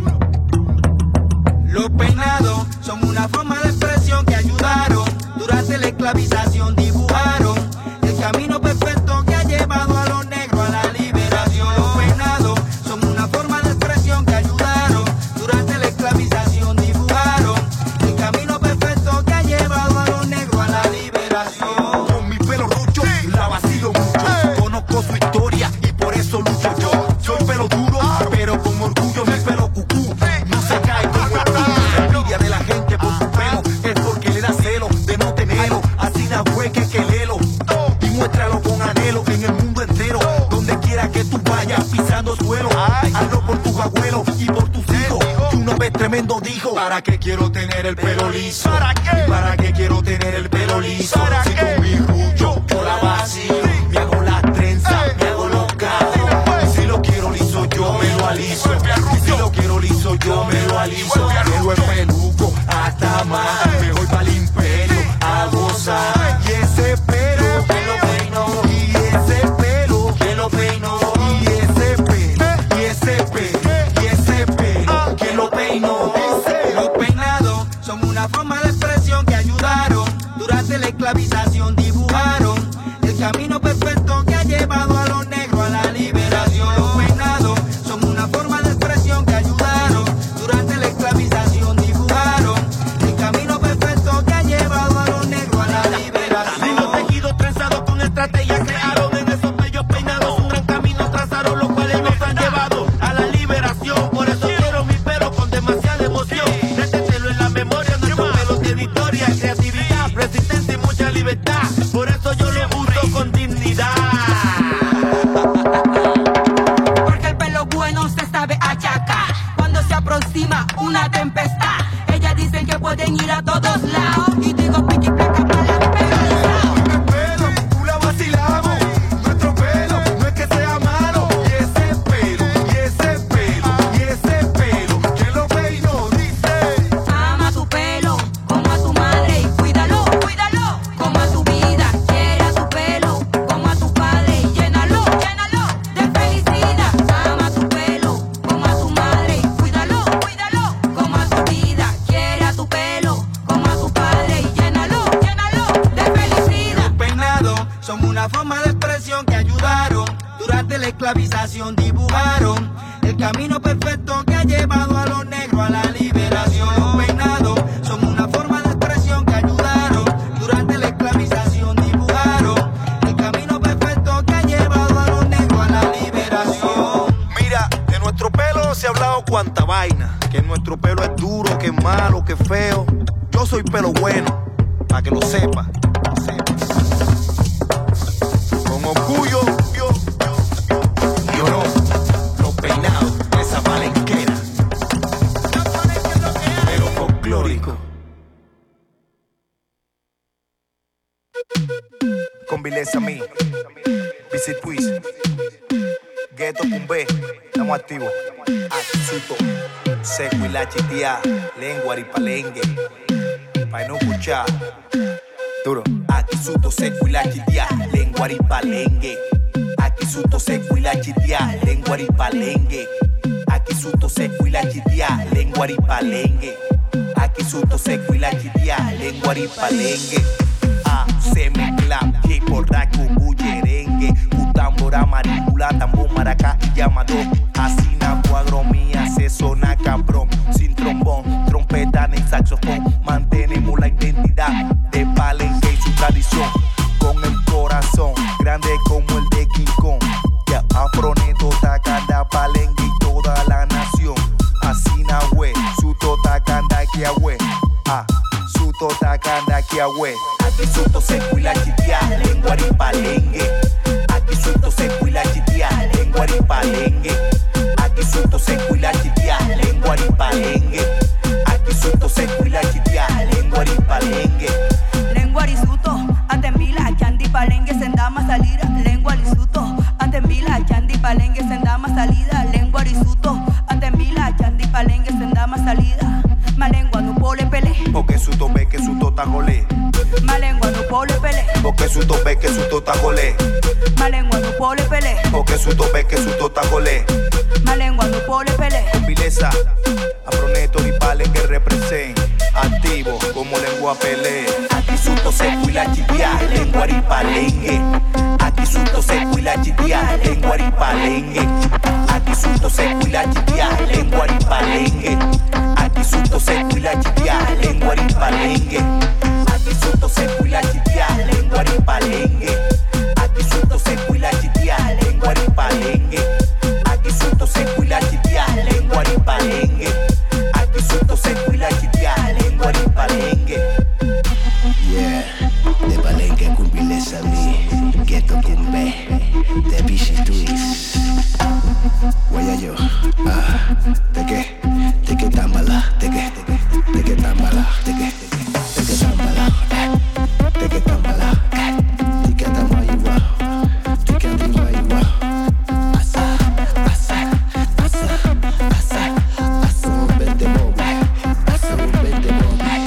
Los peinados son una forma de expresión que ayudaron. Durante la esclavización dibujaron el camino perfecto que ha llevado a los negros a la liberación. Los peinados son una forma de expresión que ayudaron. Durante la esclavización dibujaron el camino perfecto que ha llevado a los negros a la liberación. Su historia y por eso lucho yo. Soy pelo duro, pero con orgullo mi pelo cucú no se cae como el culo. La envidia de la gente por su pelo es porque le da celo de no tenerlo. Así na fue que que lelo y muéstralo con anhelo en el mundo entero. Donde quiera que tú vayas pisando suelo, hazlo por tus abuelos y por tus hijos. Y una vez tremendo dijo: ¿para qué quiero tener el pelo liso? ¿Para qué? ¿Para qué quiero tener el pelo liso? Si con mi rucho yo la vacío, me hago la me hago loca. Si lo quiero liso yo me lo aliso. Si lo quiero liso yo me lo aliso. Pelo es peluco, estrategia crearon en esos bellos peinados. Un gran camino trazaron, los cuales nos han llevado a la liberación. Por eso quiero mi pelo con demasiada emoción. Rétetelo en la memoria, nuestro pelo tiene historia, creatividad, resistencia y mucha libertad. Por eso yo lo uso con dignidad. Porque el pelo bueno se sabe achacar. Cuando se aproxima una tempestad, ellas dicen que pueden ir a todos lados. Y digo piqui placa para la pelo. Tú la vacilamos. Nuestro pelo no es que sea malo. Y ese pelo, y ese pelo, y ese pelo, que lo peino dice. Ama tu pelo como a tu madre y cuídalo, cuídalo como a tu vida. Quiere a tu pelo como a tu padre y llénalo, llénalo de felicidad. Ama tu pelo como a tu madre y cuídalo, cuídalo como a tu vida. Quiere a tu pelo como a tu padre y llénalo, llénalo de felicidad. Los peinados son una forma de expresión que ayudaron. Durante la esclavización dibujaron el camino perfecto que ha llevado a los negros a la liberación. Los peinados son una forma de expresión que ayudaron. Durante la esclavización dibujaron el camino perfecto que ha llevado a los negros a la liberación. Mira, de nuestro pelo se ha hablado cuanta vaina. Que nuestro pelo es duro, que es malo, que es feo. Yo soy pelo bueno, para que lo sepa. Con orgullo, yo, yo, yo, yo no. Los peinados de esa palenquera. Pero folclórico. Con vileza mí. Visit Quiz. Ghetto Cumbé. Estamos activos. Akisuto. Seco y la chitia. Lengua y palengue. Pa' no escuchar. Duro. Akisuto, seco y la chitia. Lengua y palengue. Akisuto, seco y la chitia. Lengua y palengue. Akisuto, seco y la chitia. Lengua y palengue. Akisuto, seco y la chitia. Lengua y palengue. Ah, se mezcla, que corraco, bullerengue, cutambora, maricula, tambor, maracá y llamado. Asina, cuagromía, se sona cabrón, sin trombón, trompeta ni saxofón. Mantenemos la identidad de Palenque y su tradición, con el corazón grande como el de King Kong. Ya afroneto, tacanda, Palenque y toda la nación. Asina, we, su tota canda que agüe. Ah, su tota canda que agüe. Aquí suto seco y la chitia, lengua y palengue. Aquí suto seco y la chitia, lengua y palengue. Aquí suto seco y la chitia, lengua y palengue. Aquí suto seco y la chitia, lengua y palengue. Lengua y suto, ante mila, chandi palengue, sendama salida. Lengua y suto, ante mila, chandi palengue, sendama salida. Lengua y suto, ante mila, chandi palengue, sendama salida. Malengua no pole pele. Porque su tope que su tota jolé. Malengua no pole pele. Porque su tope que su tota jolé. Malengua no pole pele. Porque su tope que su tota jolé. Malengua no pole pele. Con vileza, afroneto y palenque represent. Activo como lengua pele. Aquí suto seco y la chitia, lengua y palengue. Aquí suto seco y la chitia, lengua y palengue. Aquí suto seco y la chitia, lengua y palengue. Aquí suto seco y la chitia, lengua y palengue. Aquí suto seco y la chitia, lengua y palengue. Aquí suto seco y la chitia, lengua y palengue. Aquí suto seco y la chitia, lengua y palengue. Aquí suto seco y la chitia, lengua y palengue. Yeah, de Palenque con vileza mí, Ghetto Cumbé, de Visit Quiz. Guayayo, ah, ¿de qué? ¿De qué tambala? ¿De qué? ¿De qué tambala? ¿De qué? ¿De qué tambala? ¿De qué tambala? ¿De qué tambala? ¿De qué tambala? Asa, asa, asa, asa, asa un vente bobe, asa un vente bobe.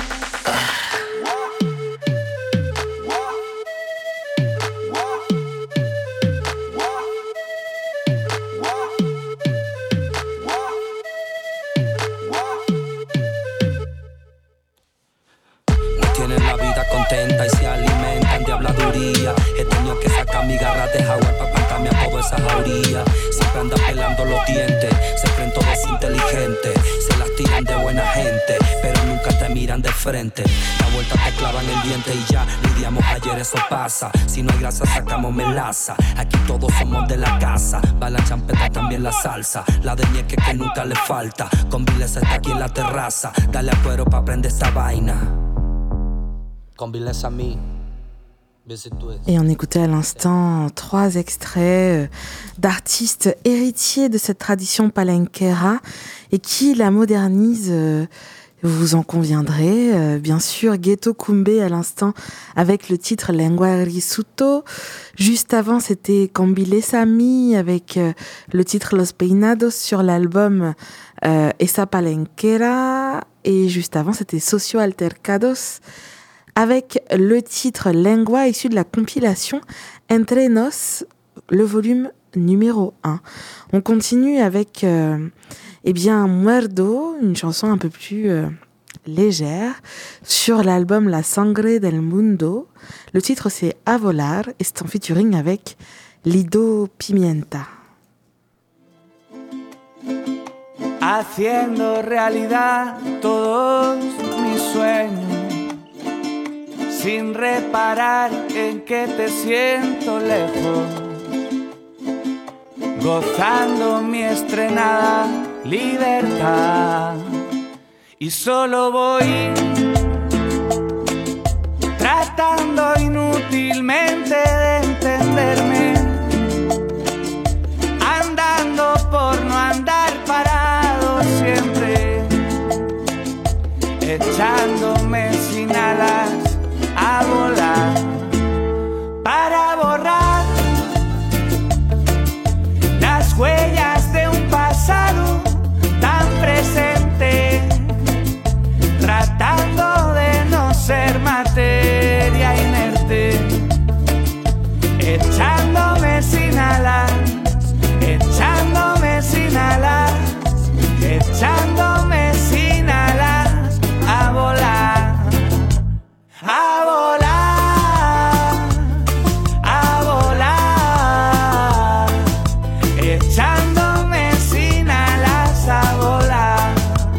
Tienen la vida contenta y se alimentan de habladuría. He tenido que sacar mi garra de jaguar para plantarme a todo todas esas orillas. Siempre anda pelando los dientes, se creen todos inteligentes, se las tiran de buena gente, pero nunca te miran de frente. La vuelta te clavan el diente y ya lidiamos ayer, eso pasa. Si no hay grasa sacamos melaza, aquí todos somos de la casa. Va la champeta, también la salsa, la de ñeque que nunca le falta. Con Viles está aquí en la terraza, dale a cuero pa' prender esta vaina. Con Viles a mí. Et on écoutait à l'instant trois extraits d'artistes héritiers de cette tradition palenquera et qui la modernisent, vous en conviendrez. Bien sûr, Ghetto Kumbé à l'instant avec le titre Lengua Risuto. Juste avant, c'était Cambile Sami avec le titre Los Peinados sur l'album euh, Esa Palenquera. Et juste avant, c'était Socio Altercados avec le titre Lengua issu de la compilation Entre Nos, le volume numéro un. On continue avec euh, eh bien Muerdo, une chanson un peu plus euh, légère, sur l'album La Sangre del Mundo. Le titre c'est A Volar et c'est en featuring avec Lido Pimienta. Haciendo realidad todos mis sueños, sin reparar en que te siento lejos, gozando mi estrenada libertad. Y solo voy tratando inútilmente de entenderme, andando por no andar parado siempre, echándome sin alas a volar para borrar las huellas de un pasado tan presente, tratando de no ser materia inerte, echándome sin alas, echándome sin alas, echándome sin alas a volar. A volar, a volar, echándome sin alas a volar,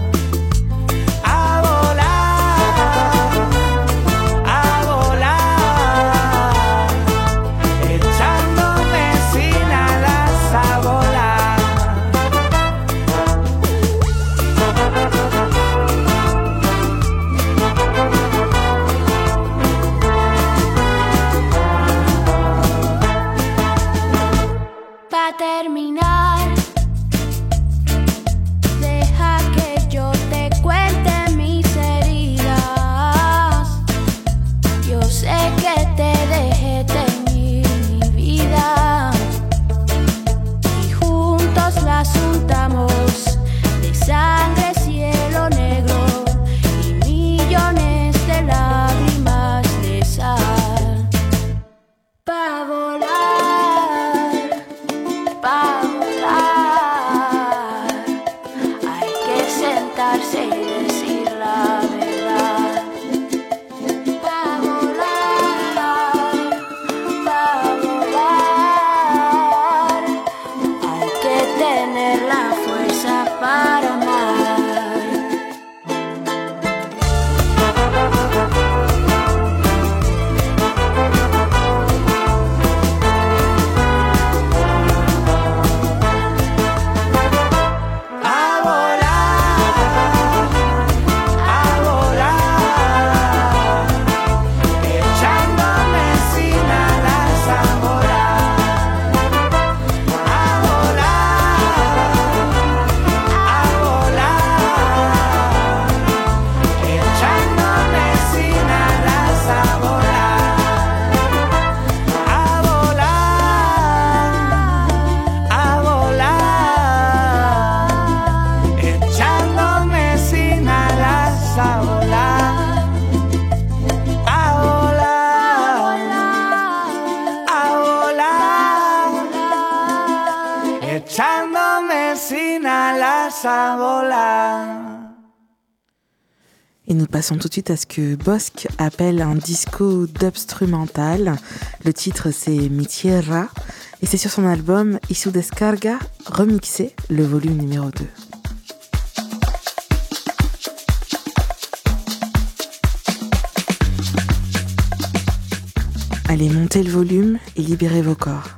a volar, a volar, echándome sin alas a volar. Pa' terminar, deja que yo te cuente mis heridas. Yo sé que te dejé teñir mi vida y juntos las untamos de sangre, cielo negro y millones de lágrimas de sal. Pa' volar, pa' volar, hay que sentarse y decir la verdad. Pa' volar, pa' volar, hay que tener la fuerza para amar. A volar, a volar, echándome sin alas a volar, a volar, a volar, echándome sin alas a volar, a volar, a volar, echándome sin alas a volar, a volar, a volar, echándome sin alas a volar. Et nous passons tout de suite à ce que Bosque appelle un disco dubstrumental. Le titre c'est Mi Tierra Et c'est sur son album Y su descarga remixé, le volume numéro deux. Allez, montez le volume et libérez vos corps.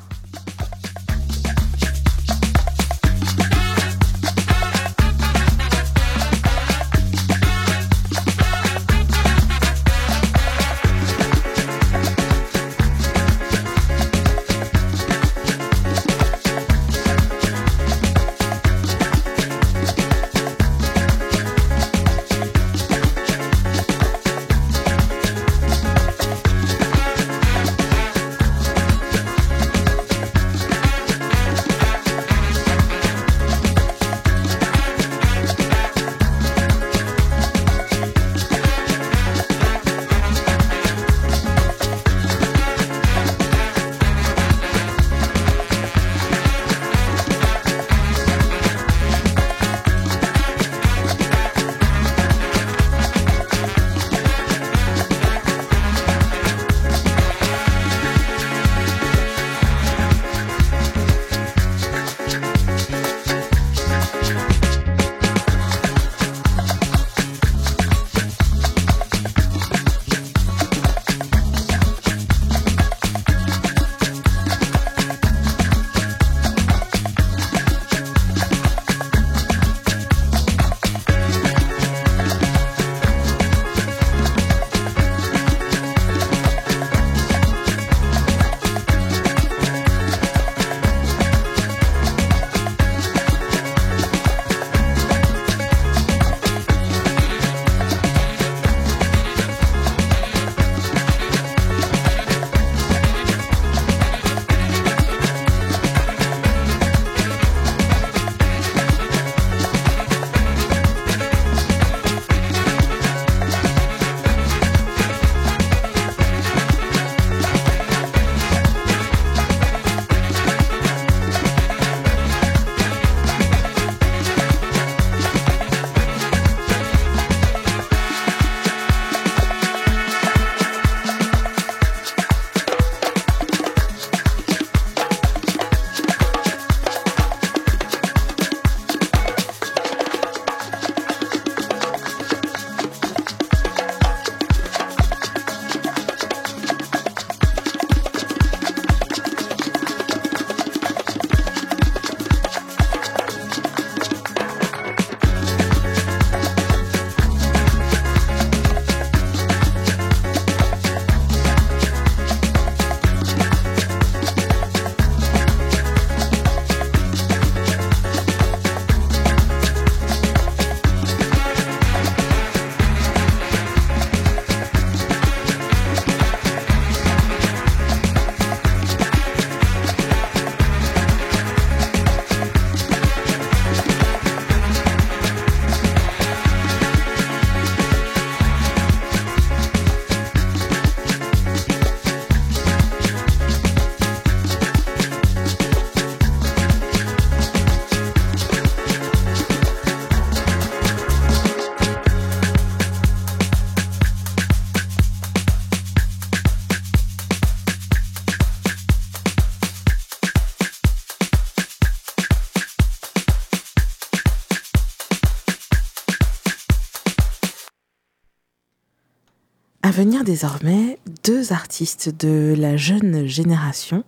À venir désormais, deux artistes de la jeune génération,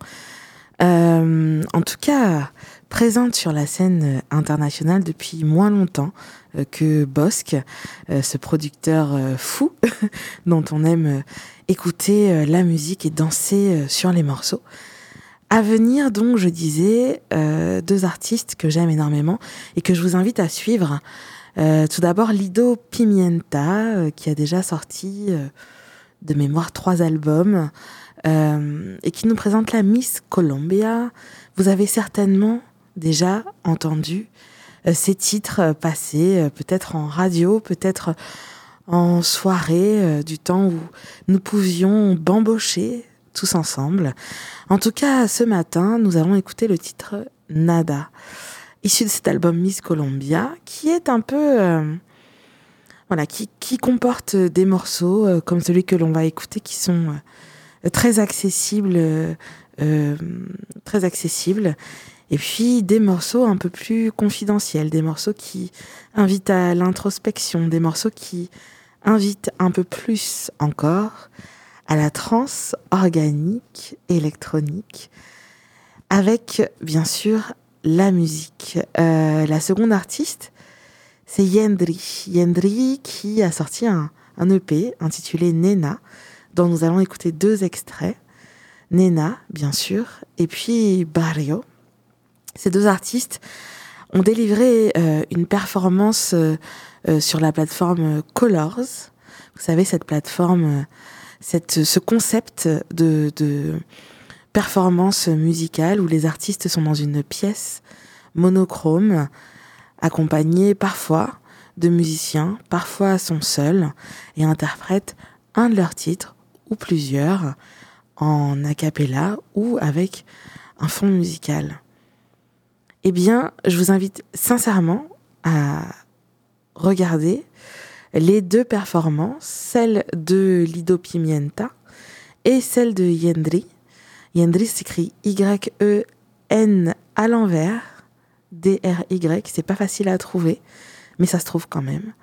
euh, en tout cas présentes sur la scène internationale depuis moins longtemps euh, que Bosque, euh, ce producteur euh, fou dont on aime euh, écouter euh, la musique et danser euh, sur les morceaux. À venir donc, je disais, euh, deux artistes que j'aime énormément et que je vous invite à suivre. Euh, tout d'abord, Lido Pimienta, euh, qui a déjà sorti euh, de mémoire trois albums euh, et qui nous présente la Miss Colombia. Vous avez certainement déjà entendu euh, ces titres euh, passés, euh, peut-être en radio, peut-être en soirée, euh, du temps où nous pouvions bambocher tous ensemble. En tout cas, ce matin, nous allons écouter le titre Nada, issu de cet album Miss Colombia, qui est un peu, euh, voilà, qui, qui comporte des morceaux euh, comme celui que l'on va écouter, qui sont euh, très accessibles euh, euh, très accessibles. Et puis des morceaux un peu plus confidentiels, des morceaux qui invitent à l'introspection, des morceaux qui invitent un peu plus encore à la trance organique, électronique, avec bien sûr la musique. Euh, la seconde artiste, c'est Yendri. Yendri qui a sorti un, un E P intitulé Nena, dont nous allons écouter deux extraits. Nena, bien sûr, et puis Barrio. Ces deux artistes ont délivré euh, une performance euh, euh, sur la plateforme Colors. Vous savez, cette plateforme, euh, cette, ce concept de, de performance musicale où les artistes sont dans une pièce monochrome, accompagnés parfois de musiciens, parfois sont seuls et interprètent un de leurs titres ou plusieurs en a cappella ou avec un fond musical. Eh bien, je vous invite sincèrement à regarder les deux performances, celle de Lido Pimienta et celle de Yendri. Yendri s'écrit Y E N à l'envers, D R Y, c'est pas facile à trouver, mais ça se trouve quand même.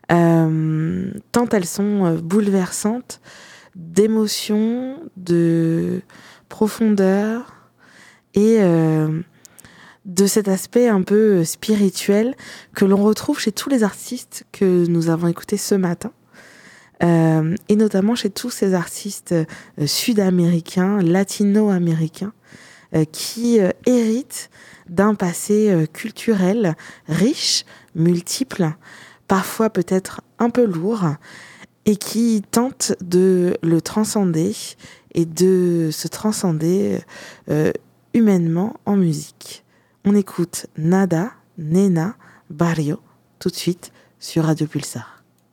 Euh, tant elles sont bouleversantes d'émotion, de profondeur et euh, de cet aspect un peu spirituel que l'on retrouve chez tous les artistes que nous avons écoutés ce matin, euh, et notamment chez tous ces artistes euh, sud-américains, latino-américains, euh, qui euh, héritent d'un passé euh, culturel riche, multiple, parfois peut-être un peu lourd, et qui tentent de le transcender et de se transcender euh, humainement en musique. On écoute Nada, Nena, Barrio, tout de suite sur Radio Pulsar.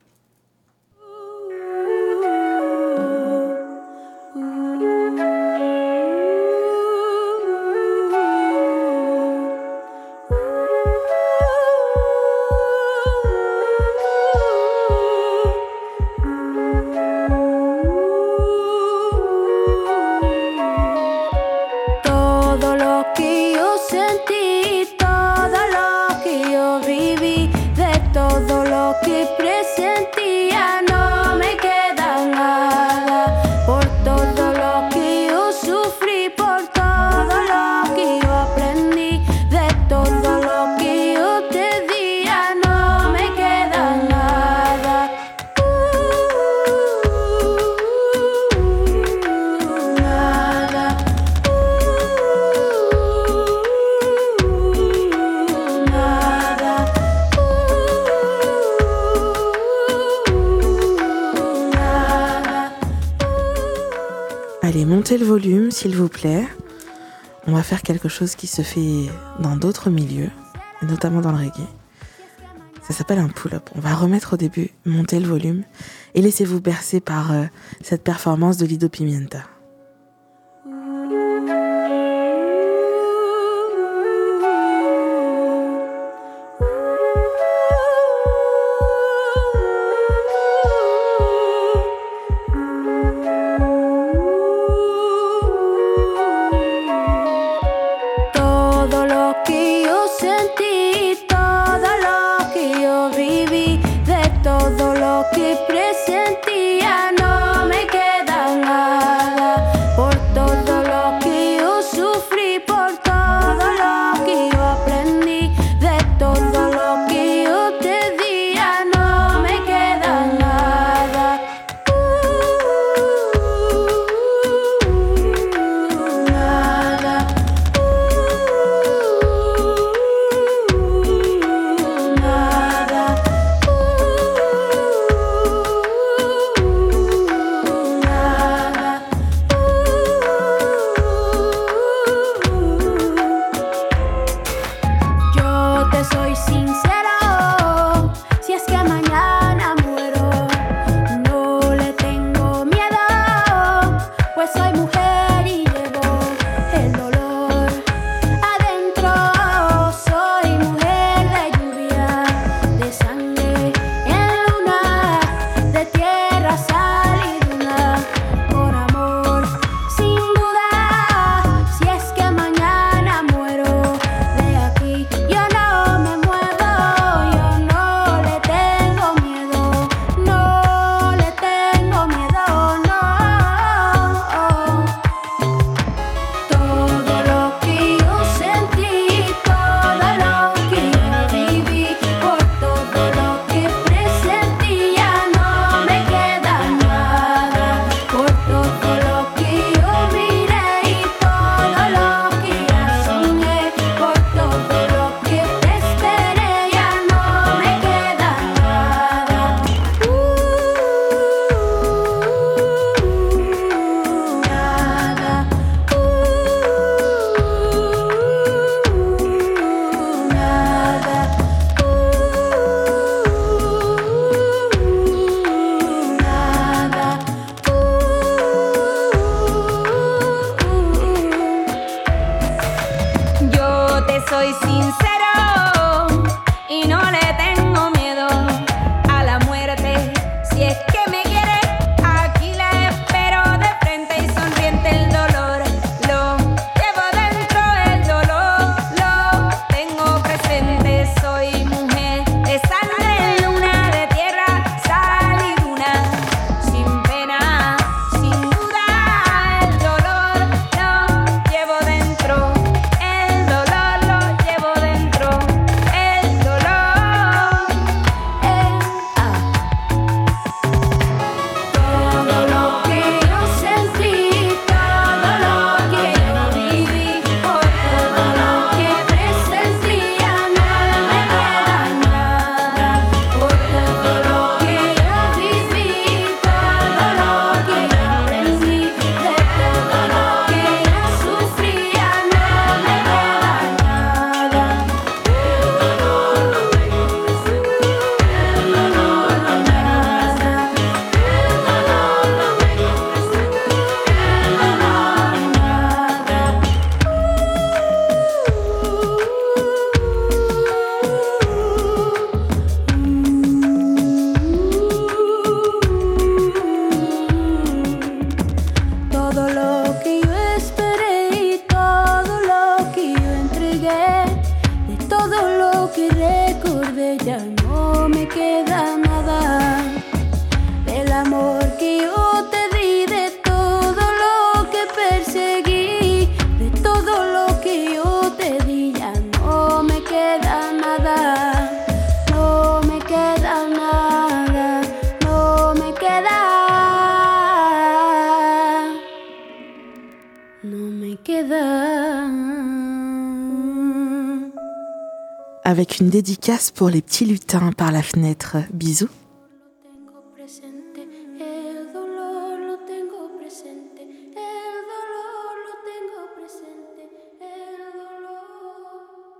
Montez le volume, s'il vous plaît. On va faire quelque chose qui se fait dans d'autres milieux, notamment dans le reggae. Ça s'appelle un pull-up. On va remettre au début, montez le volume et laissez-vous bercer par euh, cette performance de Lido Pimienta. Todo lo que presentía no me queda nada. soy sincero y no le tengo miedo a la muerte. Si es que me quiere, aquí la espero de frente y sonriente. El dolor lo llevo dentro, el dolor lo tengo presente. Soy mujer de sangre, luna de tierra, sal y luna, sin pena, sin duda. El dolor lo llevo dentro, el dolor lo llevo dentro, el dolor, el ah. Todo lo que yo sentí, todo lo que yo viví, por todo lo que presentía, nada me queda nada. Por todo lo que yo viví, todo lo que yo aprendí, de todo lo que yo sufría, nada me queda nada. Todo lo que yo esperé y todo lo que yo entregué, de todo lo que recordé ya no me queda nada. Del amor que yo te di, de todo lo que perseguí, de todo lo que yo te di ya no me queda nada. No me queda nada, no me queda, no me queda. Avec une dédicace pour les petits lutins par la fenêtre. Bisous. El dolor lo tengo presente, el dolor lo tengo presente, el dolor.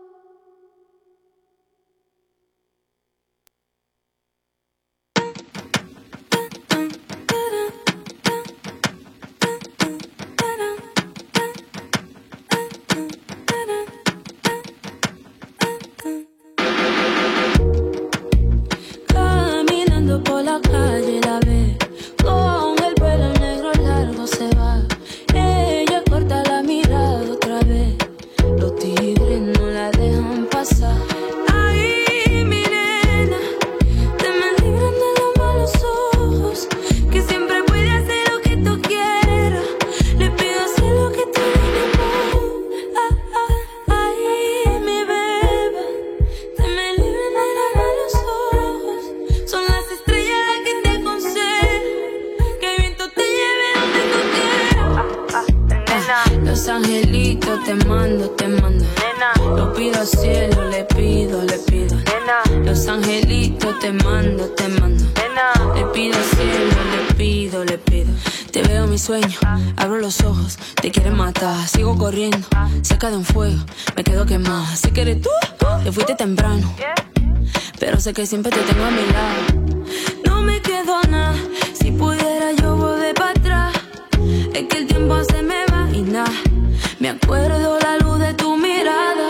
Caminando por la calle la ve, con el pelo negro largo se va. Ella corta la mirada otra vez, los tigres no la dejan pasar. Ay, mi nena, te me libran de los malos ojos, que siempre puede hacer lo que tú quieras. Le pido hacer lo que tú le amor. Ah, ah, ay, mi beba, te me libran de los malos ojos. Son las estrellas las que te aconsejan, que el viento te lleve donde tú quieras. Los angelitos te mando, te mando. Lo pido al cielo, le pido, le pido. Los angelitos te mando, te mando. Le pido al cielo, le pido, le pido. Te veo en mi sueño, abro los ojos, te quieren matar. Sigo corriendo, cerca de un fuego, me quedo quemada. Sé que eres tú, te fuiste temprano, pero sé que siempre te tengo a mi lado. No me quedo nada, si pudiera yo volver para atrás. Es que el tiempo se me va y nada, me acuerdo la luz de tu mirada.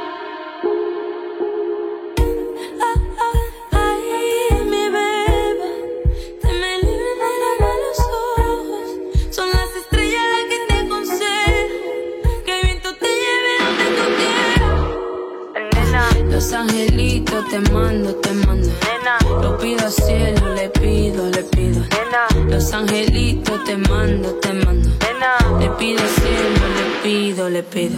Ah, ah, ay, mi beba, te me libran de los malos ojos. Son las estrellas las que te aconsejan, que el viento te lleve donde tú quieras. Los angelitos te mando, te mando. Lo pido al cielo, le pido, le pido. Los angelitos te mando, te mando. Le pido al cielo, le pido, le pido.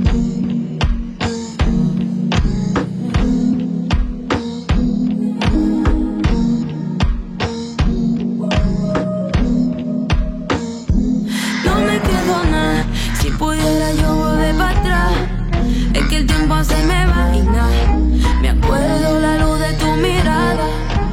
No me quedo nada, si pudiera yo volver para atrás. Es que el tiempo se me va y nada, me acuerdo la luz de tu mirada.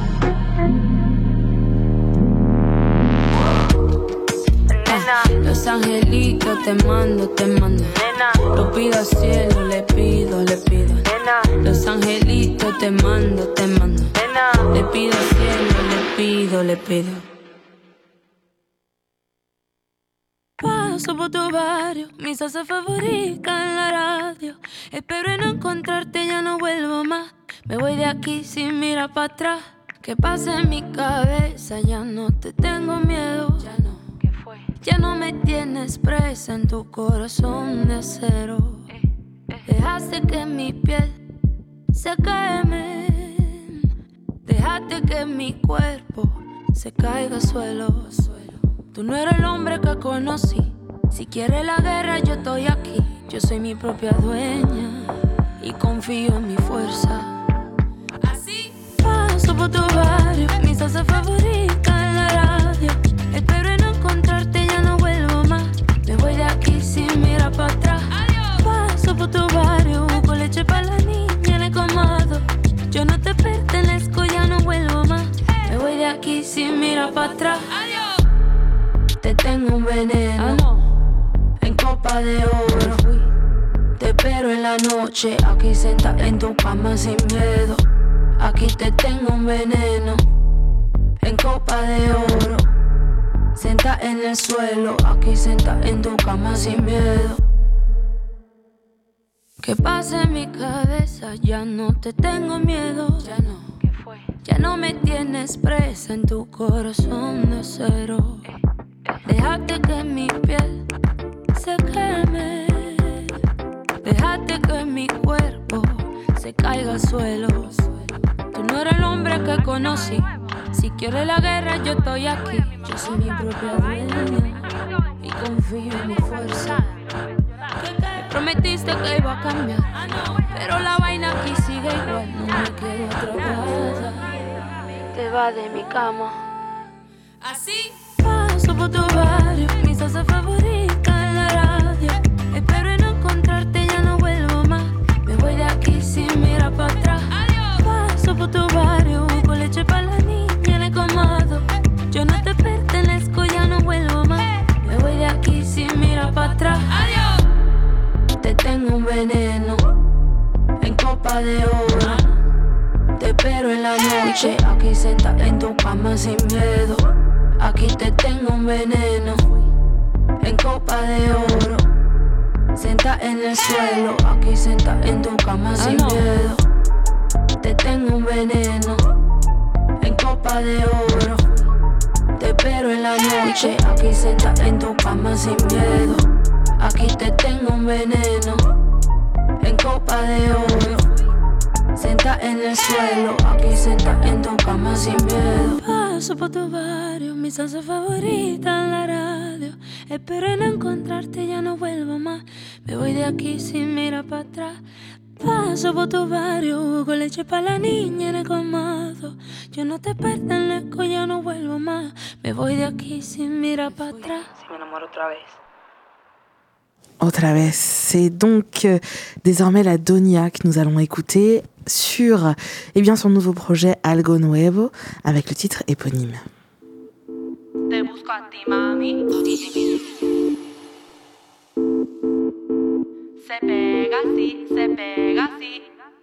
Los angelitos te mando, te mando. Lo pido al cielo, le pido, le pido. Los angelitos te mando, te mando. Le pido al cielo, le pido, le pido. Paso por tu barrio, mi salsa favorita en la radio. Espero en no encontrarte, ya no vuelvo más. Me voy de aquí sin mirar para atrás. ¿Qué pasa en mi cabeza? Ya no te tengo miedo. Ya no. ¿Qué fue? Ya no me tienes presa en tu corazón de acero. Eh, eh. Dejaste que mi piel se queme. Dejaste que mi cuerpo se caiga al suelo. Tú no eres el hombre que conocí. Si quieres la guerra, yo estoy aquí. Yo soy mi propia dueña y confío en mi fuerza. Así paso por tu barrio, mi salsa favorita en la radio. Espero en no encontrarte, ya no vuelvo más. Me voy de aquí sin mirar para atrás. Adiós. Paso por tu barrio, busco leche para la niña en el colmado. Yo no te pertenezco, ya no vuelvo más. Me voy de aquí sin mirar para atrás. Adiós. Te tengo un veneno, ah, no. En copa de oro. Te espero en la noche, aquí sentada en tu cama sin miedo. Aquí te tengo un veneno, en copa de oro. Sentada en el suelo, aquí sentada en tu cama sin miedo. ¿Qué pasa en mi cabeza? Ya no te tengo miedo. Ya no. ¿Qué fue? Ya no me tienes presa en tu corazón de acero. Eh, eh. Dejaste que mi piel se queme. Dejaste que mi cuerpo se caiga al suelo. Tú no eres el hombre que conocí. Si quieres la guerra, yo estoy aquí. Yo soy mi propia dueña y confío en mi fuerza. Me prometiste que iba a cambiar, pero la vaina aquí sigue igual. No me quedo atrapada. Te vas de mi cama. Así paso por tu barrio, mi salsa favorita en la radio. Espero en no encontrarte, ya no vuelvo más. Me voy de aquí sin mirar para atrás. Adiós. Paso por tu barrio, busco leche para la niña en el colmado. Yo no te pertenezco, ya no vuelvo más. Me voy de aquí sin mirar para atrás. Adiós. Te tengo un veneno, en copa de oro. Te espero en la noche, aquí sentada en tu cama sin miedo. Aquí te tengo un veneno, en copa de oro. Sentada en el suelo, aquí sentada en tu cama sin miedo. Te tengo un veneno, en copa de oro. Te espero en la noche, aquí sentada en tu cama sin miedo. Aquí te tengo un veneno, en copa de oro. Sentada en el suelo, aquí sentada en tu cama sin miedo. Paso por tu barrio, mi salsa favorita en la radio. Espero en encontrarte, ya no vuelvo más. Me voy de aquí sin mirar para atrás. Paso por tu barrio, con leche para la niña en el colmado. Yo no te pertenezco, ya no vuelvo más. Me voy de aquí sin mirar para atrás. Si me enamoro otra vez. Otra vez, c'est donc euh, désormais la Donia que nous allons écouter sur eh bien, son nouveau projet Algo Nuevo avec le titre éponyme. Te busco a ti, mami. Se pega así, se pega así.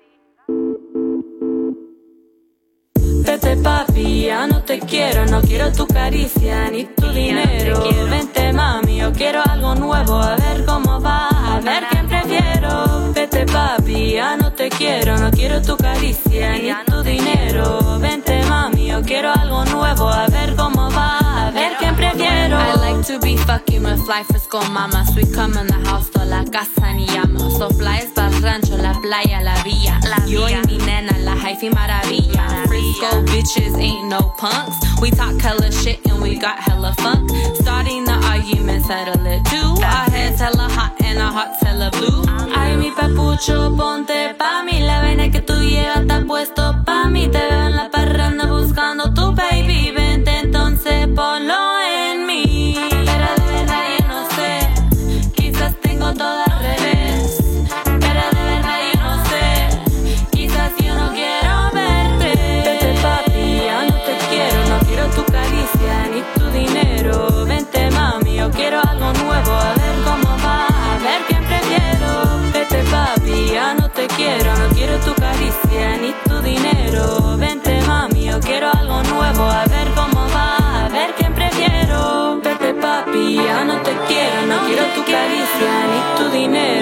Vete papi, ya no te quiero, no quiero tu caricia ni tu dinero. Vente mami, yo quiero algo nuevo, a ver cómo va, a ver quién prefiero. Vete papi, ya no te quiero, no quiero tu caricia ni tu dinero. Vente mami, yo quiero algo nuevo, a ver cómo va, a ver quién prefiero. I like to be fucking with fly fresco mamas. We come in the house, toda la casa ni llamo. So fly es pa'l rancho, la playa, la villa. Yo y mi nena, la hyphy maravilla. Frisco bitches ain't no punks. We talk hella shit and we got hella funk. Starting the argument, settle it too. Our heads hella hot and our hearts hella blue. Ay, mi papucho, ponte pa' mí. La vena que tú llevas está puesto pa' mí. Te veo en la parranda buscando tu baby. Vente entonces, ponlo en mí. Pero de verdad yo no sé, quizás tengo todo al revés. Pero de verdad yo no sé, quizás yo no quiero verte. Vete papi, ya no te quiero, no quiero tu caricia ni tu dinero. Vente mami, yo quiero algo nuevo, a ver cómo va, a ver quién prefiero. Vete papi, ya no te quiero, no quiero tu caricia ni tu dinero.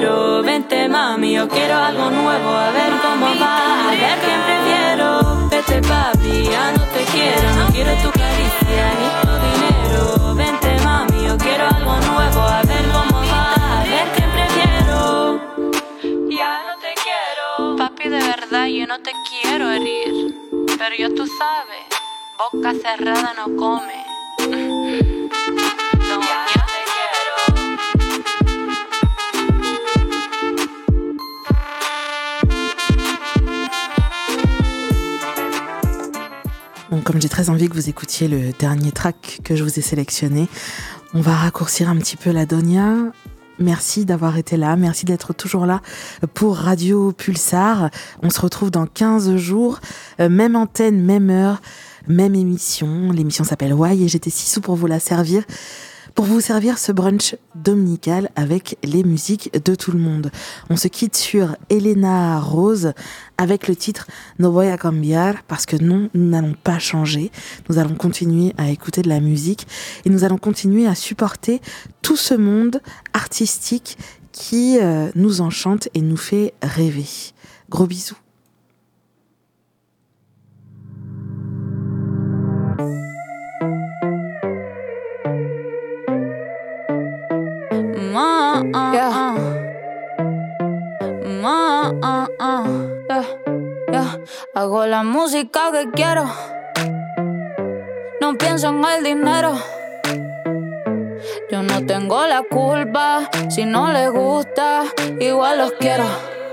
quiero. Vente mami, yo quiero algo nuevo, a ver cómo va, a ver quién prefiero. Vete papi, ya no te quiero, no quiero tu caricia ni tu dinero. Vente mami, yo quiero algo nuevo, a ver cómo va, a ver quién prefiero. Ya no te quiero. Papi, de verdad yo no te quiero herir, pero yo tú sabes, boca cerrada no come. No, ya no te Bon, comme j'ai très envie que vous écoutiez le dernier track que je vous ai sélectionné, on va raccourcir un petit peu la Donia. Merci d'avoir été là, merci d'être toujours là pour Radio Pulsar. On se retrouve dans quinze jours, même antenne, même heure, même émission. L'émission s'appelle Why et j'étais si sous pour vous la servir. Pour vous servir ce brunch dominical avec les musiques de tout le monde. On se quitte sur Elena Rose avec le titre No voy a cambiar, parce que non, nous n'allons pas changer. Nous allons continuer à écouter de la musique et nous allons continuer à supporter tout ce monde artistique qui euh, nous enchante et nous fait rêver. Gros bisous. Ma, uh, yeah. Ma, uh, uh, yeah, yeah. Hago la música que quiero, no pienso en el dinero. Yo no tengo la culpa, si no les gusta, igual los quiero.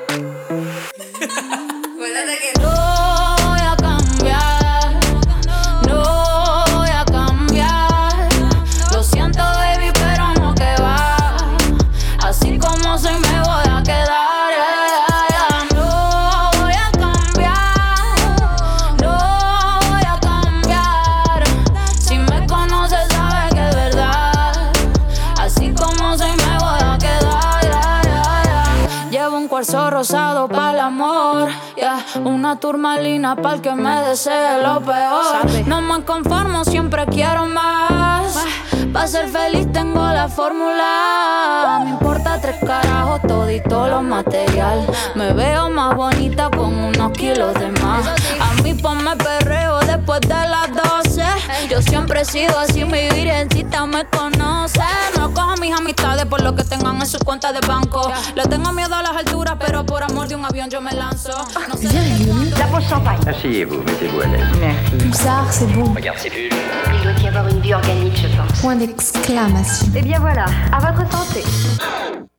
No voy a cambiar, no voy a cambiar. Lo siento baby, pero no que va. Así como soy me voy a quedar, yeah, yeah, yeah. No voy a cambiar, no voy a cambiar. Si me conoces sabes que es verdad. Así como soy me voy a quedar, yeah, yeah, yeah. Llevo un cuarzo rosado para el amor, yeah. Una turmalina para el que me desee lo peor. No me conformo, siempre quiero más. Pa' ser feliz tengo la fórmula. Me importa tres carajos, todito lo material. Me veo más bonita con unos kilos de más. A mí ponme perreo después de las doce. Yo siempre he sido así, mi virgencita me conoce. No cojo mis amistades por lo que tengan en sus cuentas de banco. Le tengo miedo a las alturas, pero por amor de un avión yo me lanzo. No sé La pause champagne. Asseyez-vous, mettez-vous à l'aise. Merci. Pulsar, c'est bon. Regarde ces bulles. Il doit y avoir une vie organique, je pense. Point d'exclamation. Eh bien voilà, à votre santé.